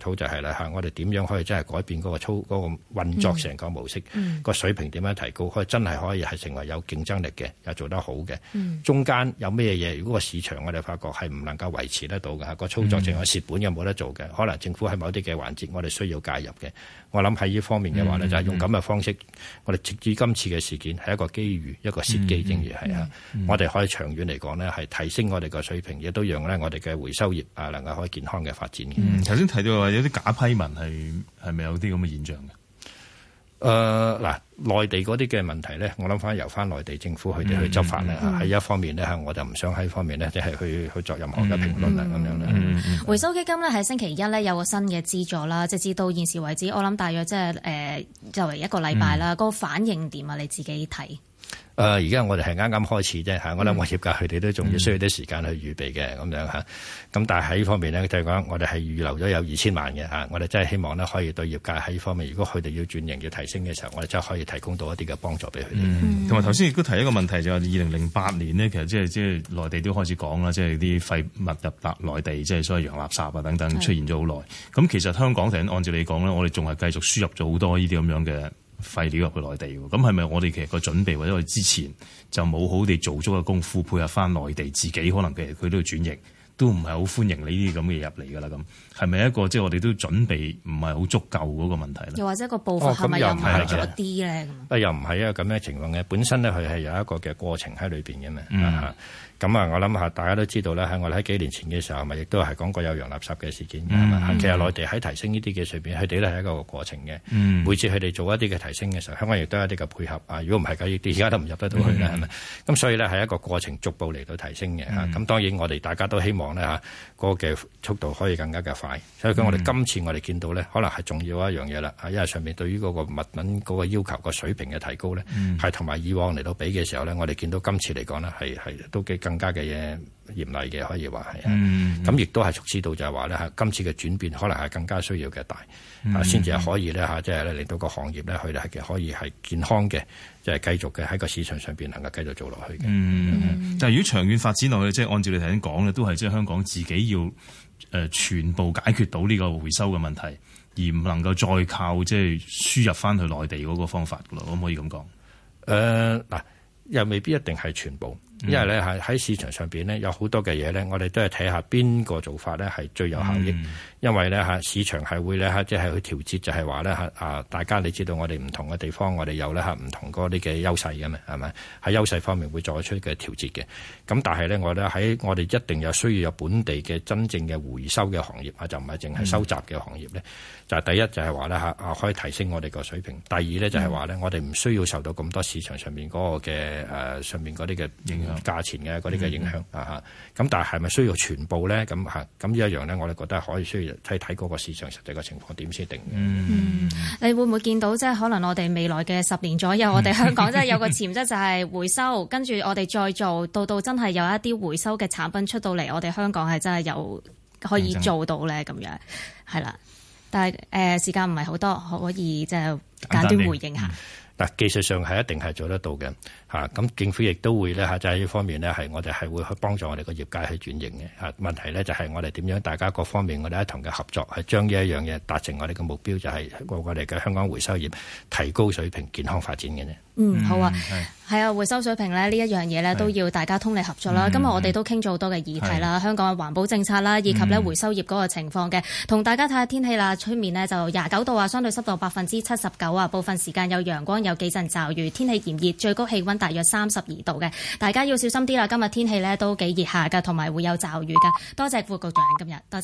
啦我哋點樣可以真係改變嗰個運作成個模式，個水平點樣提高，可以真係可以係成為有競爭力嘅，又做得好嘅。中間有咩嘢？如果個市場我哋發覺係唔能夠維持得到嘅，個操作淨係蝕本又冇得做嘅，可能政府喺某啲嘅環節我哋需要介入嘅。我諗喺呢方面嘅話呢，就係用咁嘅方式，我哋直至今次嘅事件係一個機遇，一個契機，正如係我哋可以長遠嚟講呢，係提升我哋個水平，亦都讓呢我哋嘅回收業能夠可以健康嘅發展嘅。 頭先提到話有啲假批文係咪有啲咁嘅現象嘅？ 內地嗰啲嘅問題咧，我諗翻由翻內地政府佢哋去執法咧，喺一方面咧，我就唔想喺方面咧，即係去作任何嘅評論啦，咁樣啦。 回收基金咧喺星期一咧有個新嘅資助啦，直至到現時為止，我諗大約即係作為一個禮拜啦，嗰個反應點啊？你自己睇？ 而家我哋係啱啱開始啫，我諗我業界佢哋都仲要需要啲時間去預備嘅咁樣嚇。咁但係喺呢方面呢，就係講我哋係預留咗有2000萬嘅嚇，我哋真係希望呢可以對業界喺呢方面，如果佢哋要轉型要提升嘅時候，我哋真係可以提供到一啲嘅幫助俾佢哋。 同埋頭先亦都提一個問題，就係2008年呢，其實即係內地都開始講啦，即係啲廢物入內地，即係所謂洋垃圾啊等等出現咗好耐。咁其實香港按照你講咧，我哋仲係繼續輸入咗好多呢啲咁樣嘅廢料入去內地喎，咁係咪我哋其實個準備或者我哋之前就冇好地做足嘅功夫配合翻內地自己，可能其實佢都要轉型，都唔係好歡迎呢啲咁嘅入嚟㗎啦。咁係咪一個即係我哋都準備唔係好足夠嗰個問題咧？ 又或者個步伐係咪又唔係咗啲咧？ 又唔係一個咁嘅情況嘅，本身咧佢係有一個嘅過程喺裏邊嘅嘛。咁我諗下大家都知道咧，我哋喺幾年前嘅時候，咪亦都係講過有洋垃圾嘅事件嘅。其實內地喺提升呢啲嘅上邊，佢哋都係一個過程嘅。每次佢哋做一啲嘅提升嘅時候，香港亦都有一啲嘅配合。如果唔係嘅，而家都唔入得到去啦，係咪？咁所以咧係一個過程，逐步嚟到提升嘅。咁當然我哋大家都希望咧嗰個嘅速度可以更加嘅快。所以我哋今次我哋見到咧，可能係重要一樣嘢啦。因為上面對於嗰個物品嗰個要求個水平嘅提高咧，係同埋以往嚟到比嘅時候咧，我哋見到今次嚟講呢，係都更加嘅嘢嚴厲嘅，可以話係。咁亦都係促使到就係話咧今次嘅轉變可能係更加需要嘅大，先至係可以咧即係令到個行業咧佢哋係可以係健康嘅，即係繼續嘅喺個市場上邊能夠繼續做落去嘅。 但係如果長遠發展落去，即係按照你頭先講咧，都係即係香港自己要全部解決到呢個回收嘅問題，而唔能夠再靠即係輸入翻去內地嗰個方法噶咯，可唔可以咁講？ 又未必一定係全部。因為咧喺市場上邊呢，有好多嘅嘢咧，我哋都係睇下邊個做法咧係最有效益。因為咧市場係會咧即係去調節，就係話咧大家你知道我哋唔同嘅地方，我哋有咧唔同嗰啲嘅優勢嘅嘛，係咪？喺優勢方面會作出嘅調節嘅。咁但係咧我哋一定有需要有本地嘅真正嘅回收嘅行業就唔係淨係收集嘅行業咧。就係第一就係話咧可以提升我哋個水平。第二咧就係話咧我哋唔需要受到咁多市場上面嗰個嘅上面嗰啲嘅影響。價錢嘅嗰啲嘅影響咁但係咪需要全部咧？咁呢一樣咧，我哋覺得可以需要睇嗰個市場實際嘅情況點先定嘅。 你會唔會見到即係可能我哋未來嘅10年左右，我哋香港真係有個潛質就係回收，跟住我哋再做到真係有一啲回收嘅產品出到嚟，我哋香港係真係有可以做到咧咁樣係啦。但係時間唔係好多，可以即係簡短回應下。 技術上係一定係做得到嘅咁政府亦都會咧就喺呢方面呢，係我哋係會去幫助我哋個業界去轉型嘅問題呢，就係我哋點樣大家各方面我哋一同嘅合作，係將呢一樣嘢達成我哋嘅目標，就係我哋嘅香港回收業提高水平、健康發展嘅啫。 好啊，係啊，回收水平咧呢一樣嘢咧都要大家通力合作啦。今日我哋都傾咗好多嘅議題啦，香港嘅環保政策啦，以及咧回收業嗰個情況嘅，同大家睇下天氣啦。出面呢就29度啊，相對濕度79%啊，部分時間有陽光，有幾陣驟雨，天氣炎熱，最高氣溫大約32度嘅，大家要小心啲啦。今日天氣咧都幾熱下噶，同埋會有驟雨噶。多謝副局長今日，多謝。